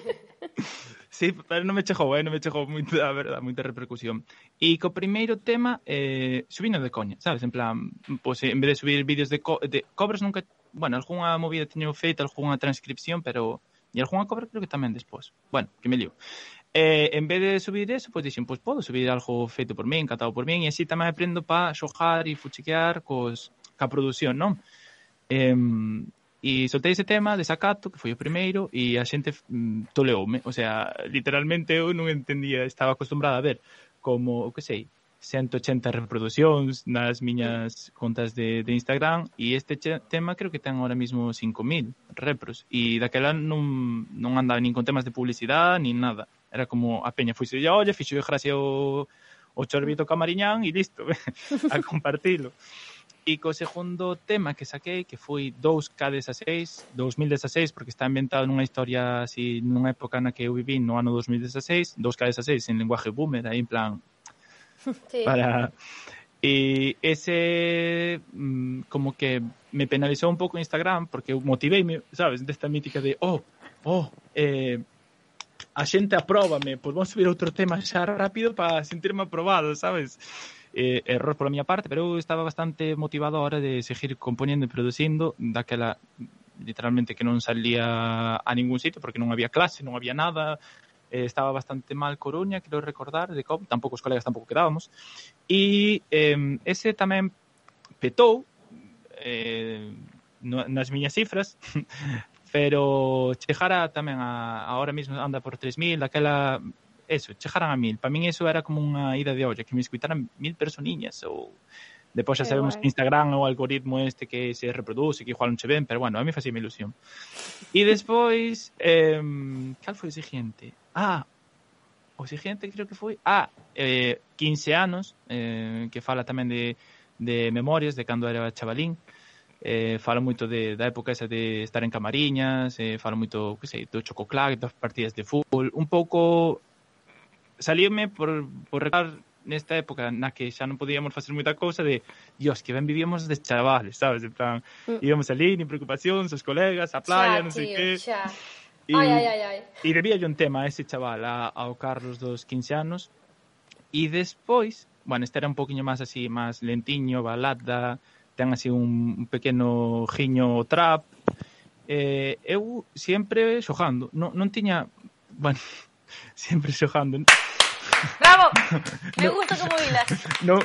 Sí, pero non me chegou, eh? Non me chegou moita, a verdad, moita repercusión. E co primeiro tema, eh, subino de coña, sabes? En plan, pues, en vez de subir vídeos de, co de cobres nunca... Bueno, algunha movida teño feita, algunha transcripción, pero... E algunha cobra creo que tamén despois. Bueno, que me lío. Eh, en vez de subir eso, pues dixen, pues podo subir algo feito por min, catado por min, e así tamén aprendo para xojar e fuchiquear cos, ca produción, non? Eh, e soltei ese tema, Desacato, que foi o primeiro, e a xente mm, toleoume. O sea, literalmente eu non entendía, estaba acostumbrada a ver como, o que sei, ciento ochenta reproduccións nas miñas contas de, de Instagram, e este che, tema creo que ten ahora mismo cinco mil repros, e daquela non, non andaba nin con temas de publicidade, nin nada. Era como a peña fuise, ya, oye, fixo de gracia o, o chorbito camariñán e listo, a compartilo. E co segundo tema que saquei, que foi dous K dezasseis, dos mil dezasseis, porque está inventado nunha historia así, nunha época na que eu viví no ano dos mil dezasseis, dous K dezasseis en lenguaje boomer, aí en plan... Sí. Para... E ese mmm, como que me penalizou un pouco en Instagram, porque eu motiveime, sabes, desta mítica de, oh, oh, eh... a xente apróbame, pois vamos subir outro tema xa rápido para sentirme aprobado, sabes? Eh, error pola miña parte, pero eu estaba bastante motivado a hora de seguir componendo e producindo, daquela literalmente que non salía a ningún sitio porque non había clase, non había nada, eh, estaba bastante mal Coruña, quero recordar, de COVID, tampouco os colegas tampouco quedábamos, e eh, ese tamén petou eh, no, nas miñas cifras, pero chegara tamén a, ahora mesmo anda por tres mil, daquela, eso, chegaran a mil. Para min eso era como unha ida de olla, que me escuitaran mil personiñas, ou depois xa Que sabemos guai. que Instagram é o algoritmo este que se reproduce, que igual non che ven, pero bueno, a mí facía ilusión. E despois, eh, cal foi o seguinte? Ah, o seguinte creo que foi, ah, eh, quince anos, eh, que fala tamén de, de memorias de cando era chavalín. Eh, falo moito de, da época esa de estar en camariñas, eh, falo moito, que sei, do chococlac, das partidas de fútbol, un pouco salíome por, por recordar nesta época na que xa non podíamos facer moita cousa de, dios, que ben vivíamos de chavales, sabes, en plan, Mm. íbamos ali, nin preocupacións, os colegas, a playa, Xa, non sei tío, que, xa. e, Ai, ai, ai, ai. e debía yo un tema a ese chaval, a, ao Carlos dos quince anos, e despois, bueno, este era un poquinho máis así, máis lentiño, balada, ten así un, un pequeno giño trap, eh, eu sempre xogando. Non, non tiña... Bueno, sempre xogando. Bravo! Me gusta como hilas. No...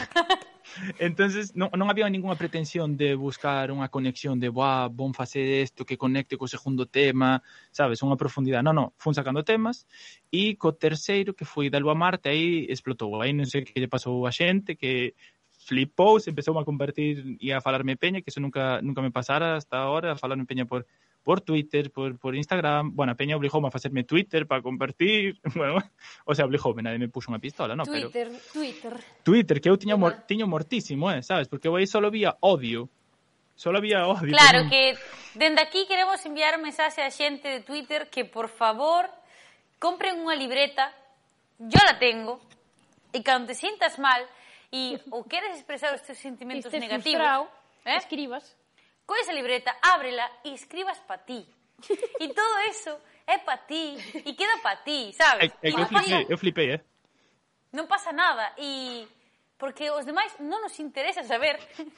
Entonces, non, non había ninguna pretensión de buscar unha conexión de buah, bon facer isto que conecte co segundo tema, sabes, unha profundidade. Non, non, fun sacando temas e co terceiro, que foi da Lua a Marte, aí explotou. Aí non sei que lle pasou a xente, que flipou, se empezou a compartir e a falarme peña, que eso nunca nunca me pasara hasta ahora, a falarme peña por por Twitter, por, por Instagram. Bueno, a peña obligoume a facerme Twitter para compartir. Bueno, o sea, obligoume, nadie me puxo unha pistola, no, Twitter, pero... Twitter. Twitter, que eu tiña mor, tiño mortísimo, eh, sabes? Porque eu aí só vía odio. Só había odio. Claro, que dende aquí queremos enviar un mensaxe a xente de Twitter que, por favor, compren unha libreta, yo la tengo, e cando te sientas mal e ou queres expresar os teus sentimentos Estés negativos, frustrado, eh? escribas. Con esa libreta, ábrela e escribas pa ti. E todo eso é pa ti e queda pa ti, sabes? É, é que eu flipei, eu flipei, eh? Non pasa nada e porque os demais non nos interesa saber.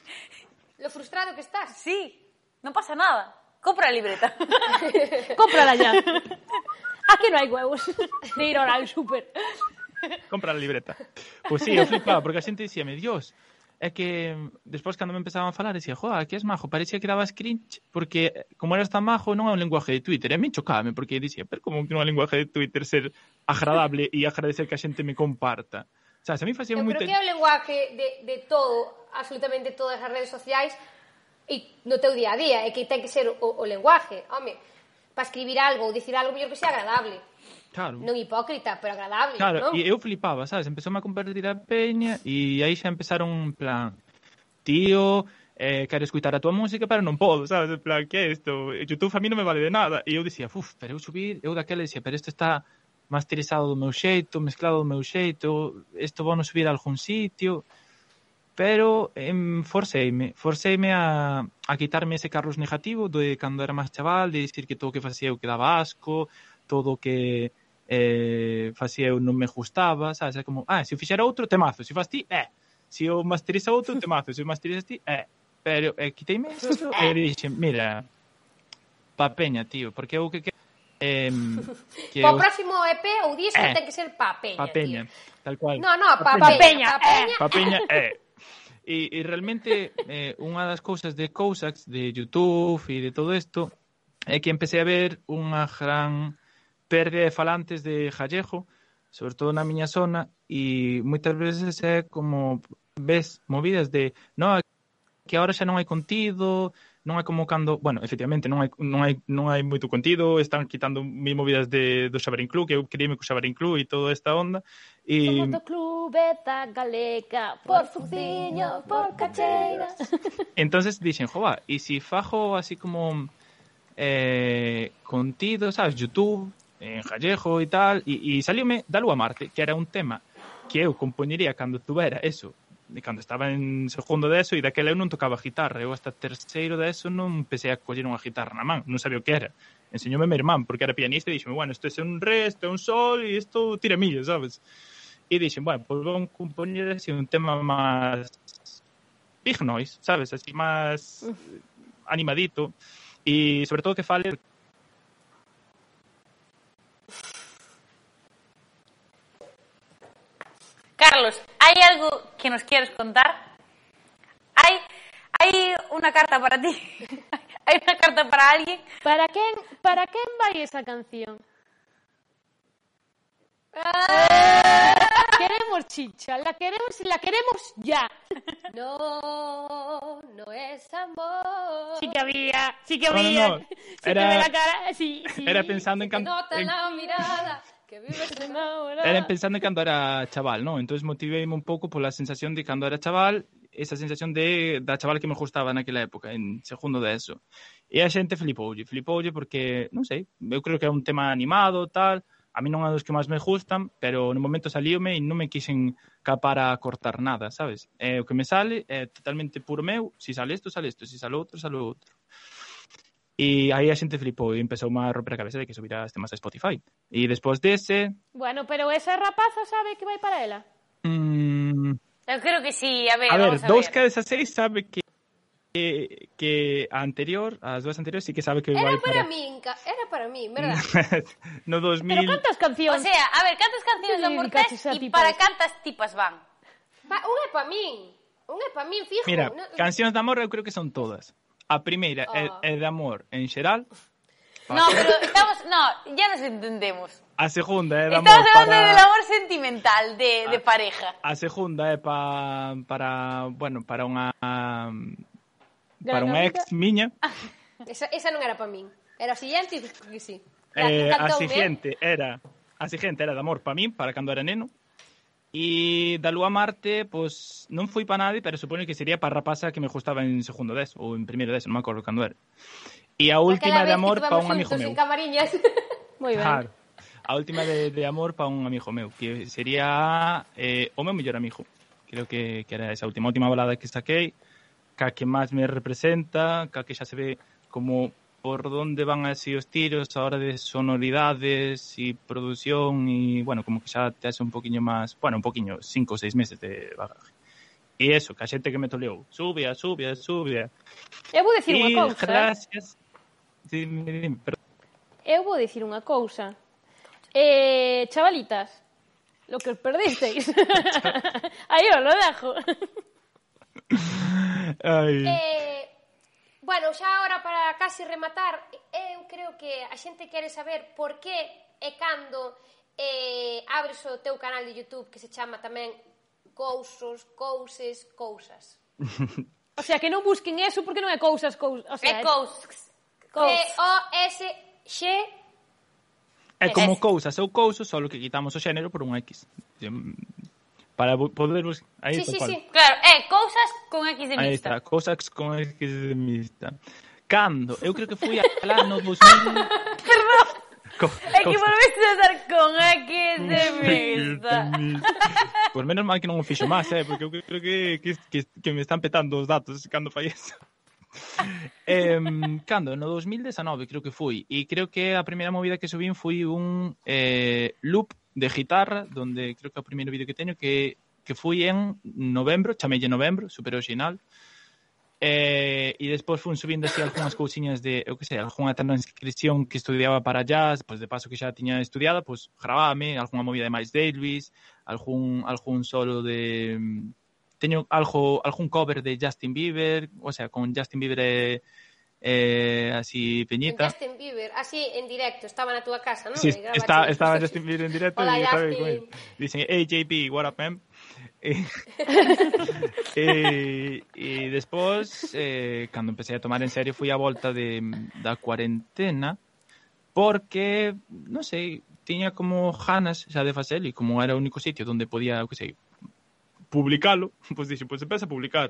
Lo frustrado que estás. Sí, non pasa nada. Compra a libreta. Cómprala ya. Aquí no hai huevos de ir ahora al súper. Compra a libreta. Pois sí, eu flipaba, porque a xente dicíame, Dios, é que despois cando me empezaban a falar decía, joa, que és majo, parecía que dabas cringe, porque como eras tan majo non é un lenguaje de Twitter, e a mí chocábame, porque dicía, pero como que non é un lenguaje de Twitter ser agradable e agradecer que a xente me comparta. O sea, se a mí facía Eu moito... creo que é o lenguaje de, de todo, absolutamente todas as redes sociais e no teu día a día, é que ten que ser o, o lenguaje, home, para escribir algo ou dicir algo mellor que sea agradable. Claro. Non hipócrita, pero agradable, Claro, non? e eu flipaba, sabes? Empezou a compartir a peña e aí xa empezaron en plan, tío, eh, quero escutar a tua música, pero non podo, sabes? En plan, que é isto? YouTube a mí non me vale de nada. E eu dicía, uf, pero eu subir, eu daquela dicía, pero isto está masterizado do meu xeito, mezclado do meu xeito, isto vou non subir a algún sitio. Pero em, forceime, forceime a, a quitarme ese carros negativo de cando era máis chaval, de dicir que todo o que facía eu quedaba asco, todo o que eh, facía eu non me gustaba, sabes? É como, ah, se eu fixera outro, temazo, se faz ti, eh. Se eu masteriza outro, temazo, se eu masterizas ti, eh. Pero eh, quiteime isto e dixen, mira, pa peña, tío, porque eu que que eh, que Pa o eu, próximo E P ou disco Eh, ten que ser pa peña, pa peña, tío. tal cual. No, no, pa, Pa peña, peña, pa peña. Pa peña, eh. E, e realmente eh, unha das cousas de Cousacks, de YouTube e de todo isto, é que empecé a ver unha gran pérdida de falantes de gallego, sobre todo na miña zona, e moitas veces é como ves movidas de no, que agora xa non hai contido, non é como cando, bueno, efectivamente non hai non hai non hai moito contido, están quitando mil movidas de do Xabarín Club, que eu queríame co Xabarín Club e toda esta onda. E Somos do Clubeta Galega, por Fuciño, por Cacheiras. entonces dixen, jova, e se si fajo así como eh, contido, sabes, YouTube, en gallego e tal, e, e salióme da Lua a Marte, que era un tema que eu compoñería cando tuvera eso, de cando estaba en segundo de eso, e daquela eu non tocaba guitarra, eu hasta terceiro de eso non empecé a coller unha guitarra na man, non sabía o que era. Enseñoume meu irmán, porque era pianista, e dixeme, bueno, isto é un re, isto é un sol, e isto tira millo, sabes? E dixen, bueno, pois vamos compoñer así un tema máis big noise, sabes? Así máis animadito, e sobre todo que fale... Carlos, ¿hay algo que nos quieres contar? ¿Hay, hay una carta para ti? ¿Hay una carta para alguien? Para quen, para quen vai esa canción? Queremos chicha, la queremos y la queremos ya. No, no es amor. Sí que había, sí que No, no, había. no. Sí Era- que ve la cara, sí, sí. Era pensando en Que cando... nota en- la mirada, que vives en Enamorada. Era pensando en cando era chaval, ¿no? Entonces motiveime un pouco pola sensación de cando era chaval, esa sensación de da chaval que me gustaba naquela época, en segundo de eso. E a xente flipoulle, flipoulle porque, non sei, eu creo que é un tema animado, tal, a mí non é dos que máis me gustan, pero no momento salíome e non me quixen capar a cortar nada, sabes? É o que me sale é totalmente puro meu, si sale isto, sale isto, si sale outro, sale outro. E aí a xente flipou e empezou a romper a cabeza de que subirá as temas a Spotify. E despois dese... Bueno, pero esa rapaza sabe que vai para ela. Mmm, Yo creo que sí, a ver, a ver, vamos a dous ver. cada seis sabe que que, que a anterior, as dúas anteriores, sí que sabe que Era vai para para... min, ca- era para min, verdad? no dos mil... Pero cantas O cancións? sea, a ver, cantas cancións Que de amor dedicaches tes a e tipas? para cantas tipas van? Pa, un é para min. Un é para min, fijo. Mira, No, cancións de amor eu creo que son todas. A primeira é, Oh. é de amor en xeral. No, pero estamos... No, ya nos entendemos. A segunda é de amor Estamos hablando para... del amor sentimental, de, de pareja. A segunda é pa, para, bueno, para unha para unha Gran ex miña. esa, esa non era para min. Era a siguiente e que sí. Eh, a cantoume. siguiente era a siguiente era de amor para min, para cando era neno. E da Lúa Marte, pues non foi para nadie, pero supoño que sería para a rapaza que me gustaba en segundo des ou en primeiro des, non me acordo cando era. E a última de amor para un amigo meu. En camariñas. Moi ben. Claro. A última de, de amor para un amigo meu, que sería eh, o meu mellor amigo. Creo que, que era esa última última balada que saquei, ca que máis me representa, ca que xa se ve como por donde van así os tiros a hora de sonoridades e produción e, bueno, como que xa te hace un poquinho máis, bueno, un poquinho, cinco ou seis meses de bagaje. E eso, que a xente que me toleou, subia, subia, subia. Eu vou dicir unha E cousa. gracias. Sí, dime, dime, perdón. Eu vou dicir unha cousa. Eh, chavalitas, lo que os perdisteis. Aí os lo dejo. Ai. Eh, bueno, xa agora para casi rematar, eu creo que a xente quere saber por que e cando eh, abres o teu canal de YouTube que se chama tamén Cousos, Couses, Cousas. O sea, que non busquen eso porque non é cousas, cousas. O sea, É cous. C-O-S-X É como Eso. cousas ou cousas, só que quitamos o xénero por un X. Para poder... Aí, Sí, sí, tal cual. sí. Claro, é cousas con X de Aí mixta. está, cousas con X de mixta. Cando? Eu creo que fui alá no dos mil... Perdón, Co é que volveste a dar con X de mixta. Pues menos mal que non o fixo máis, eh, porque eu creo que, que, que, que me están petando os datos cando fai eso. eh, cando? No dos mil dezenove creo que fui, e creo que a primeira movida que subín foi un eh, loop de guitarra, donde creo que o primeiro vídeo que teño que, que fui en novembro, chamelle novembro, super original. Eh, e despois fun subindo así algunhas cousiñas de, eu que sei, algunha transcripción que estudiaba para jazz, pois de paso que xa tiña estudiada, pois grabábame, algunha movida de Miles Davis, algún algún solo de teño algo algún cover de Justin Bieber, o sea, con Justin Bieber eh, eh así peñita. Justin Bieber, así en directo, estaba na túa casa, non? Sí, E gravache- está, estaba Justin Bieber en directo Hola, y estaba Justin. con él. Dicen, hey J P, what up, man? E, e, e despois, eh, cando empecé a tomar en serio, fui a volta de, da cuarentena, porque, non sei, tiña como ganas xa de facelo, e como era o único sitio onde podía, que sei, publicalo, pois dixen, pois empeza a publicar.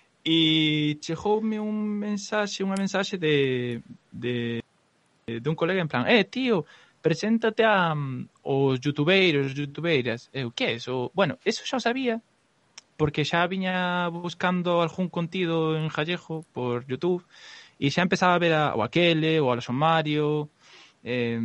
E chegoume un mensaxe, unha mensaxe de, de, de un colega en plan, eh, tío, preséntate a um, os youtubeiros, youtubeiras. Eu, que é eso? Bueno, eso xa o sabía, porque xa viña buscando algún contido en gallego por YouTube, e xa empezaba a ver a, o aquele, o a Alonso Mario, eh,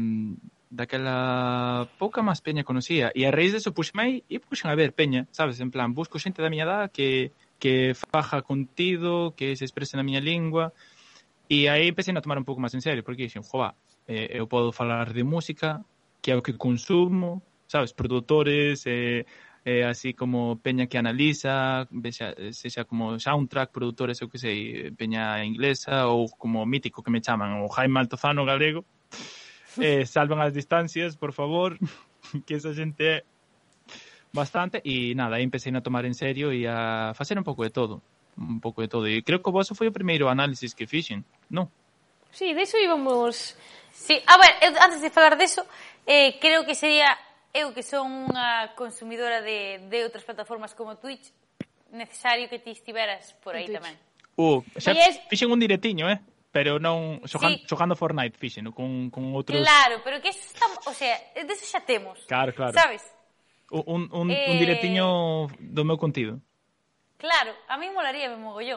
daquela pouca máis peña conocía, e a raíz deso puxeme e puxen a ver peña, sabes, en plan, busco xente da miña edad que, que faja contido, que se exprese na miña lingua, e aí empecé a tomar un pouco máis en serio, porque dixen, jova, eh, eu podo falar de música, que é o que consumo, sabes, produtores, eh, eh, así como peña que analiza, vexa, sexa como soundtrack, produtores, eu que sei, peña inglesa, ou como mítico que me chaman, o Jaime Altozano galego, eh, salven as distancias, por favor, que esa xente é bastante, e nada, aí empecé a tomar en serio e a facer un pouco de todo, un pouco de todo, e creo que o vosso foi o primeiro análisis que fixen, non? Sí, de iso íbamos... Sí, a ver, eu, antes de falar deso, eh, creo que sería eu que son unha consumidora de, de outras plataformas como Twitch, necesario que ti estiveras por aí En Twitch. tamén. Uh, xa Aí es- fixen un diretiño, eh? Pero non xogan, Sí. xogando Fortnite fixen, con, con outros... Claro, pero que eso está, o sea, deso xa temos. Claro, claro. Sabes? Un, un, Eh, un diretiño do meu contido. Claro, a mí molaría me mogollón.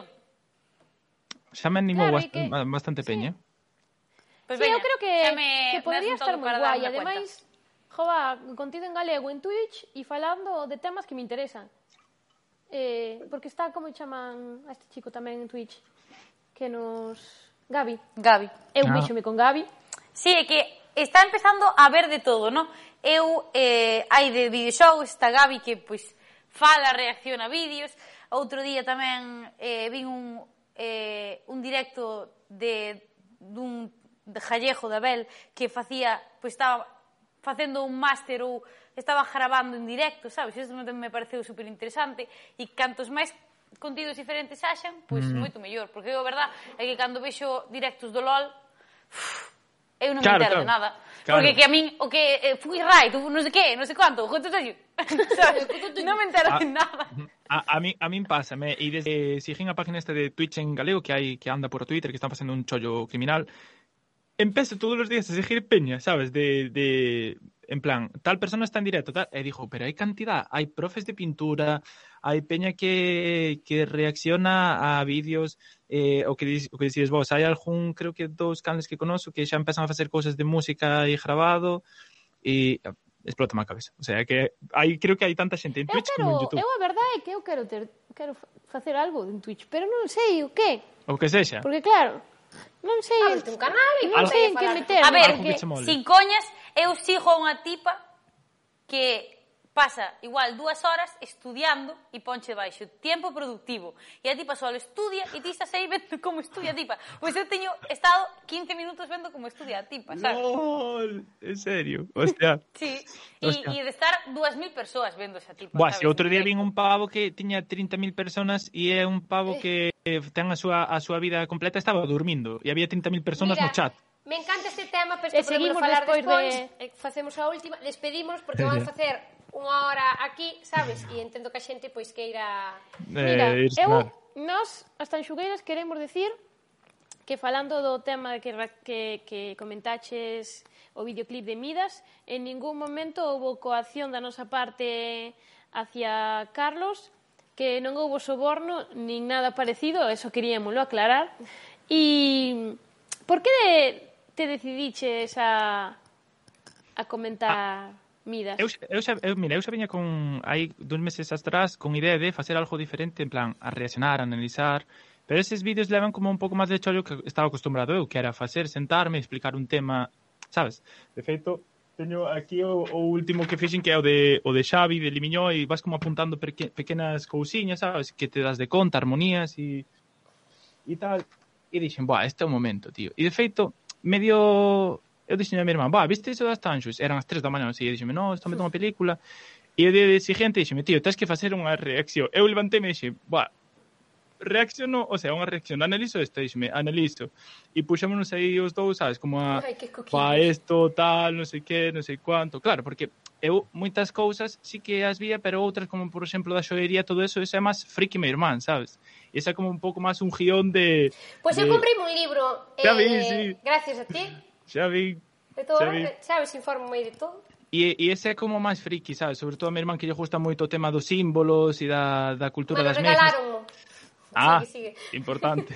Xa me animou Claro, bast- e que- bastante peña. Pues Sí, veña, eu creo que, xa me que podría das un estar toque moi para guai. darme Ademais, jova, contido en galego en Twitch e falando de temas que me interesan. Eh, porque está, como chaman a este chico tamén en Twitch? que nos... Gabi. Gabi. Eu Ah. vixome con Gabi. Sí, é que está empezando a ver de todo, non? Eu, eh, hai de videoxogos, está Gabi que, pois, fala, reacciona a vídeos. Outro día tamén eh, vin un, eh, un directo de dun de Jallejo de Abel que facía, pois estaba facendo un máster ou estaba grabando en directo, sabes? Isto me pareceu super interesante e cantos máis contidos diferentes haxan, pois mm. moito mellor, porque a verdad é que cando vexo directos do LOL, uf, eu non Claro, me entero claro. de nada. Claro. Porque que a min, o que eh, fui right, non sei que, non sei cuánto, juntos aí, sabes? Non me entero Ah. de nada. A, a mí a min pásame, e desde siguen a página esta de Twitch en galego que hai que anda por Twitter, que están facendo un chollo criminal, empezo todos os días a seguir peña, sabes, de, de en plan, tal persona está en directo, tal, e digo, pero hai cantidad, hai profes de pintura, hai peña que, que reacciona a vídeos, eh, o que dis, o que dicides vos, hai algún, creo que dous canles que conozo que xa empezan a facer cousas de música e grabado, e explota a cabeza. O sea, que hai, creo que hai tanta xente en Eu Twitch como en quero, YouTube. eu a verdade é que eu quero ter, quero fa- facer algo en Twitch, pero non sei o que. O que sexa. Porque claro, non sei, Ábrete un canal e non Algo- sei en que falar. meter. A ver, Algo que che mole. sin coñas, eu sigo a unha tipa que pasa igual dúas horas estudiando e ponche baixo tiempo productivo. E a tipa só estudia e ti estás aí vendo como estudia a tipa. Pois eu teño estado quince minutos vendo como estudia a tipa, sabes? LOL, en serio, hostia. Sí, Hostia. e, e de estar dúas mil persoas vendo esa tipa. Buah, sabes? se outro día En vin un pavo que tiña trinta mil personas e é un pavo que eh, ten a súa, a súa vida completa, estaba dormindo e había trinta mil personas Mira, no chat. me encanta este tema, pero E isto podemos seguimos falar despois despois. de- De... Facemos a última, despedimos porque vamos a facer unha hora aquí, sabes? E entendo que a xente pois queira... Mira, Eh, irse eu, mal. nós, as tanxugueiras, queremos decir que falando do tema que, ra- que, que comentaches o videoclip de Midas, en ningún momento houve coacción da nosa parte hacia Carlos, que non houve soborno nin nada parecido, eso queríamoslo aclarar. E por que de, te decidiches a, a comentar Midas? Eu, eu, xa, eu, mira, eu xa viña con hai dos meses atrás con idea de facer algo diferente, en plan, a reaccionar, a analizar, pero eses vídeos levan como un pouco máis de chollo que estaba acostumbrado eu, que era facer, sentarme, explicar un tema, sabes? De feito, teño aquí o, o último que fixen que é o de, o de Xavi, de Limiñó, e vas como apuntando peque, pequenas cousiñas, sabes? Que te das de conta, armonías e, e tal. E dixen, buah, este é o momento, tío. E de feito, medio... Eu dixen a mi irmán, buah, viste iso das tanxos? Eran as tres da mañá, así, e dixeme, no, estou metendo unha película. E o día de siguiente dixeme, tío, tens que facer unha reacción. Eu levantei e dixen, buah, reacciono, o sea, unha reacción, analizo isto, dixeme, analizo. E puxémonos aí os dous, sabes, como a, Ai, que coquillos. pa isto, tal, non sei que, non sei cuánto. Claro, porque eu moitas cousas sí que as vía, pero outras, como por exemplo da xoería, todo eso, eso é máis friki meu irmán, sabes? Esa é como un pouco máis un guión de... Pois de... eu comprei un libro, Xa vi, eh, sí. gracias a ti, Xa vi, de todo, xa vi. eh, sabes, informo de todo. E, e ese é como máis friki, sabes? Sobre todo a mi irmán que lle gusta moito o tema dos símbolos e da, da cultura Bueno, das mesas. regalaronmo. Ah, Sigue, sigue. importante.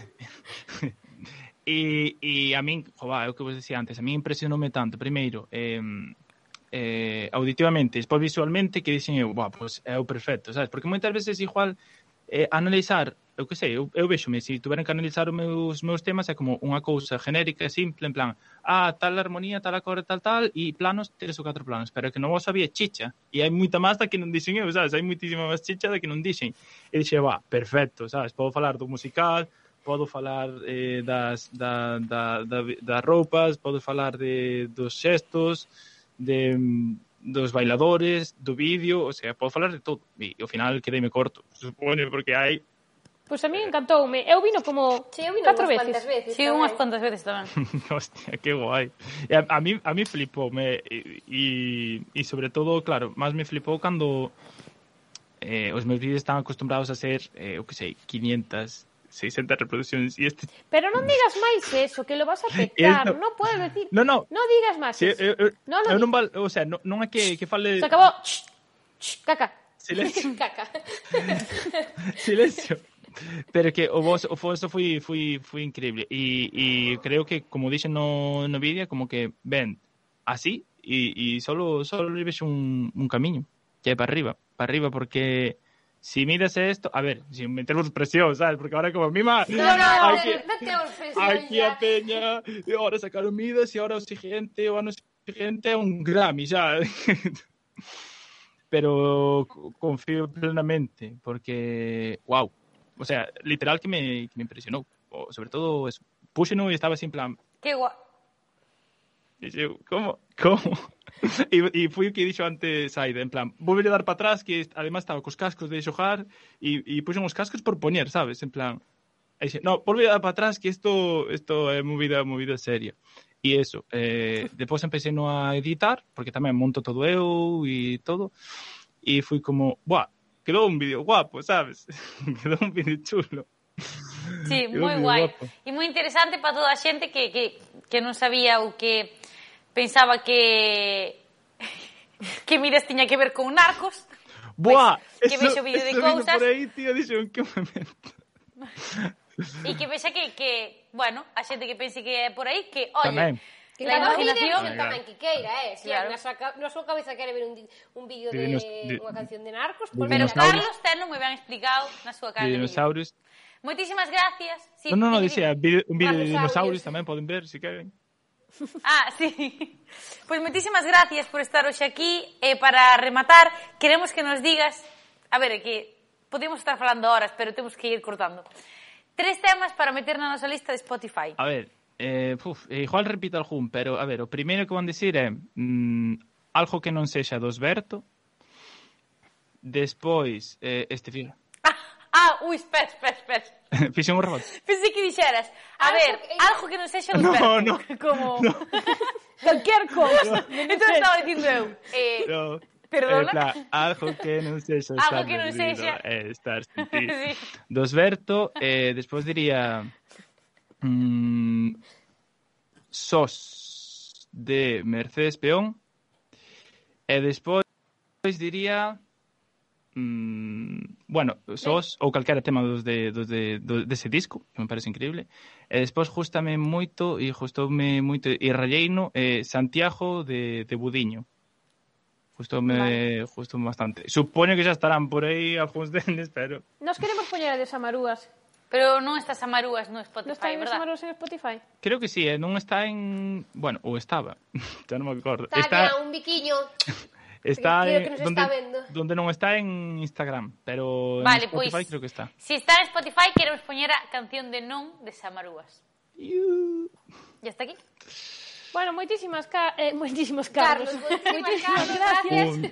e, e a min, jova, é o que vos decía antes, a min impresionoume tanto, primeiro, eh, eh, auditivamente, despois visualmente, que dixen eu, buah, pues é o perfecto, sabes? Porque moitas veces igual eh, analizar, eu que sei, eu, eu vexome, se tuveran que analizar os meus, meus temas é como unha cousa genérica, simple, en plan, ah, tal armonía, tal acorde, tal, tal, e planos, tres ou catro planos, pero que non vos sabía chicha, e hai moita máis da que non dixen eu, sabes? Hai moitísima máis chicha da que non dixen. E dixe, va, perfecto, sabes? Podo falar do musical, podo falar eh, das, da, da, da, das roupas, podo falar de, dos xestos, de, dos bailadores, do vídeo, o sea, podo falar de todo. E ao final quedeime corto, supoño, porque hai... Pois a mí encantoume. Eu vino como Sí, eu vino catro unhas veces. cuantas veces. Sí, tamén. unhas cuantas veces tamén. Hostia, que guai. E a, a mí a mí flipou, me e e sobre todo, claro, máis me flipou cando eh, os meus vídeos están acostumbrados a ser, eh, o que sei, quinientas, seiscentas reproduccións e este Pero non digas máis eso, que lo vas a petar. Esto- Non podes decir. No, no. Non digas máis Si, eso. eu, eu, Non lo eu non digas. val, o sea, non, non é que que fale Se acabou. Ch, ch, caca. silencio, Caca. silencio. Pero que o vos o foso foi foi foi increíble e e creo que como dixen no no vídeo como que ven así e e solo solo lle vexo un un camiño que é para arriba, para arriba porque si mides esto, a ver, sin meternos presión, ¿sabes? Porque ahora como mima, No, no, no, aquí, no tengo presión aquí ya. a Peña, e ahora sacaron midas e ahora o siguiente, o ano siguiente é un Grammy, xa. Pero confío plenamente, porque, wow, o sea, literal que me, que me impresionou. O, sobre todo, eso, puxeno e estaba así en plan, Que guai. Dixo, como? Como? E, e foi o que dixo antes Aida, en plan, vou a dar para atrás, que además estaba cos cascos de xogar, e, e puxen os cascos por poñer, sabes? En plan, e dixe, no, volve a dar para atrás, que isto isto é movida, movida seria. E eso, eh, depois empecé no a editar, porque tamén monto todo eu e todo, e fui como, buah, quedou un vídeo guapo, sabes? Quedou un vídeo chulo. Sí, Quedou moi moi guai. guapo. E moi interesante para toda a xente que, que, que non sabía ou que pensaba que que Midas tiña que ver con narcos. Buah, Pois, que vexo vídeo de cousas. por aí, tío, dixo, en que momento? E que vexa que, que, bueno, a xente que pense que é por aí, que, oye, Tamén. Que la cada un ide imaginación... con tamén que queira, eh? Si Claro. na súa ca- na súa cabeza quere ver un, di- un vídeo De de, dinos- de- unha canción de narcos, de pois Pero mira, dinosaurios. Carlos tenlo moi ben explicado na súa cara De de vídeo. dinosaurios. Moitísimas gracias. Sí, No, no, no, dime, dicía, dime. vídeo- un vídeo de Dinosaurios. dinosaurios tamén poden ver, se queren. Ah, sí. Pois moitísimas gracias por estar hoxe aquí. E para rematar, queremos que nos digas... A ver, é que podemos estar falando horas, pero temos que ir cortando. Tres temas para meter na nosa lista de Spotify. A ver, eh, uf, igual repito algún, pero a ver, o primeiro que van dicir é mm, algo que non sexa dos Berto. Despois, eh, este fío. Ah, ah, ui, espera, espera, espera. Fixen un rebote. Pensei que dixeras, a Algo ver, que- algo que non sexa dos No, Berto. no. Como... Cualquier cosa. Entón estaba dicindo eu. Eh, No, Perdona? en plan, algo que non sexa Algo estar que non perdido, sexa. eh, estar sentido. Sí. Dos Berto, eh, despois diría mm, Sos de Mercedes Peón, e despois diría mm, bueno, Sos ou calquera tema dos de, dos de, dos dese disco, que me parece increíble. E despois justame moito e gustoume moito e rayeino eh, Santiago de, de Budiño. Gustoume, vale. Gustoume bastante. Supoño que xa estarán por aí algúns deles, pero Nos queremos poñer a de Samarúas. Pero non estas amarúas no Spotify, Non están de verdad? Samarúas en Spotify? creo que sí, eh, non está en, bueno, ou estaba. Ya non me acordo. Está, Está un biquiño. está creo en, que nos donde, está vendo. donde non está en Instagram, pero Vale, en Spotify pois, creo que está. si está en Spotify, queremos poñer a canción de Non de Samarúas. Iu. Ya está aquí? Bueno, moitísimas, ca eh, moitísimas Carlos. Carlos, moitísimas moitísimas Carlos, gracias. Un...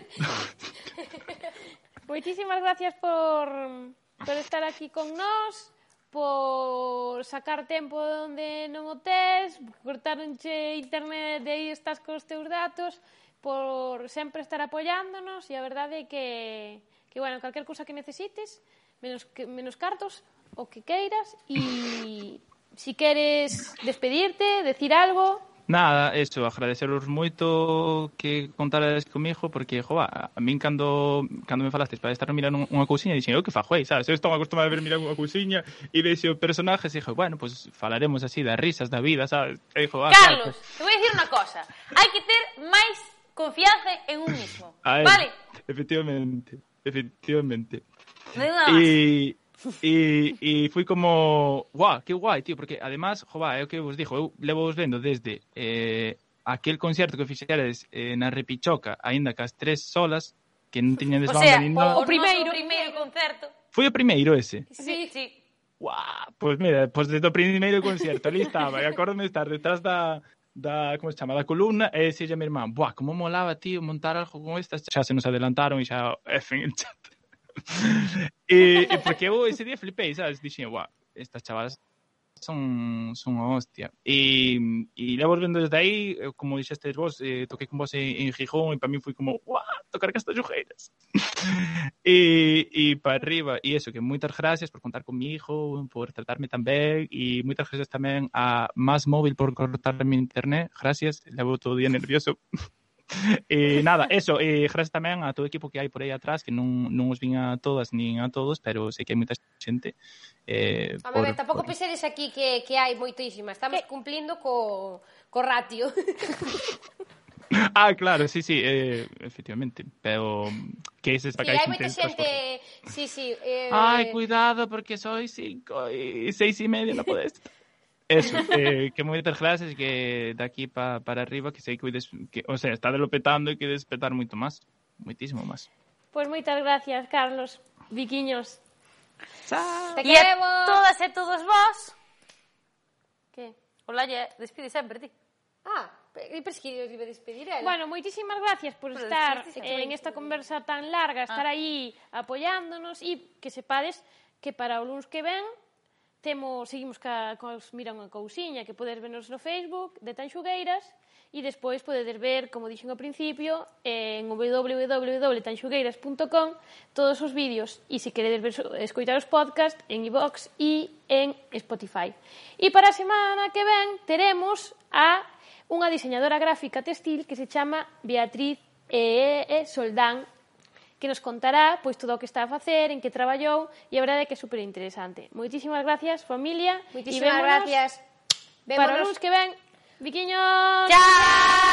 Moitísimas gracias por, por estar aquí con nós, por sacar tempo onde non o tes, cortaronche internet e aí estás cos teus datos, por sempre estar apoiándonos, e a verdade é que, que bueno, calquer cousa que necesites, menos, que, menos cartos, o que queiras, e si queres despedirte, decir algo... Nada, eso, agradeceros moito que contarades comigo, porque, jova, a min cando, cando me falastes para estar mirando unha cousiña, dixen, eu que fajo aí, sabes? Eu estou acostumado a ver mirar unha cousiña e vexo personajes e dixo, bueno, pues falaremos así das risas da vida, sabes? E dixo, ah, Carlos, claro, te voy a decir unha cosa. Hai que ter máis confianza en un mismo. a él, Vale? efectivamente, efectivamente. Non hai nada máis. E, e, e fui como, guau, que guai, tío, porque además, jova, é o que vos dixo, eu levo vos vendo desde eh, aquel concerto que fixeres eh, na Repichoca, aínda que as tres solas, que non tiñan O desbanda sea, nin o, nada. o primeiro, primeiro concerto. Foi o primeiro ese. Sí, sí. Guau, pois mira, pois desde o primeiro concerto, ali estaba, e acórdome estar detrás da, da, como se chama, da columna, e dixelle a mi irmán, buah, como molaba, tío, montar algo con estas, xa se nos adelantaron e xa efen el chat. e, e porque eu ese día flipei, sabes, dixen, guau, estas chavalas son, son a hostia. E, e levo vendo desde aí, como dixestes vos, eh, toquei con vos en, en Gijón e para mí foi como, guau, tocar Castellojeiras. e, e para arriba, e eso, que moitas gracias por contar comigo, por tratarme tan ben, e moitas gracias tamén a Más Móvil por cortarme internet, gracias, levo todo o día nervioso. E nada, eso, e gracias tamén a todo o equipo que hai por aí atrás, que non, non os vin a todas nin a todos, pero sei que hai moita xente. Eh, A por, ver, tampouco por... pensedes aquí que, que hai moitísima. Estamos cumplindo co, co ratio. Ah, claro, sí, sí, eh, efectivamente. Pero que es esta Sí, caixa hai moita intensa. xente... Sí, sí. Eh... Ai, cuidado, porque soy cinco e seis e medio no podes. Eso, eh, que moitas gracias, que de aquí pa, para arriba, que sei que, des, que o sea, está delopetando e que despetar moito máis. Moitísimo máis. Pois moitas gracias, Carlos. Viquiños. Chao. Te E a queremos. todas e todos vós, Que? hola, lle, despide sempre ti. Ah, e pero es que eu iba a despedir ela. Bueno, moitísimas gracias por Pero estar despediste, eh, en esta conversa tan larga, estar Ah. aí apoiándonos e que sepades que para o luns que ven temos, seguimos ca, cos Mira unha cousiña, que podes vernos no Facebook de Tanxugueiras e despois podedes ver, como dixen ao principio, en w w w punto tanxugueiras punto com todos os vídeos e se queredes ver, escoitar os podcast en iVox e en Spotify. E para a semana que ven teremos a unha diseñadora gráfica textil que se chama Beatriz e, e Soldán, que nos contará pois todo o que está a facer, en que traballou, e a verdade é que é super interesante. Moitísimas gracias, familia. Moitísimas gracias. Para o Vémonos. luns que ven. Viquiños! Chao!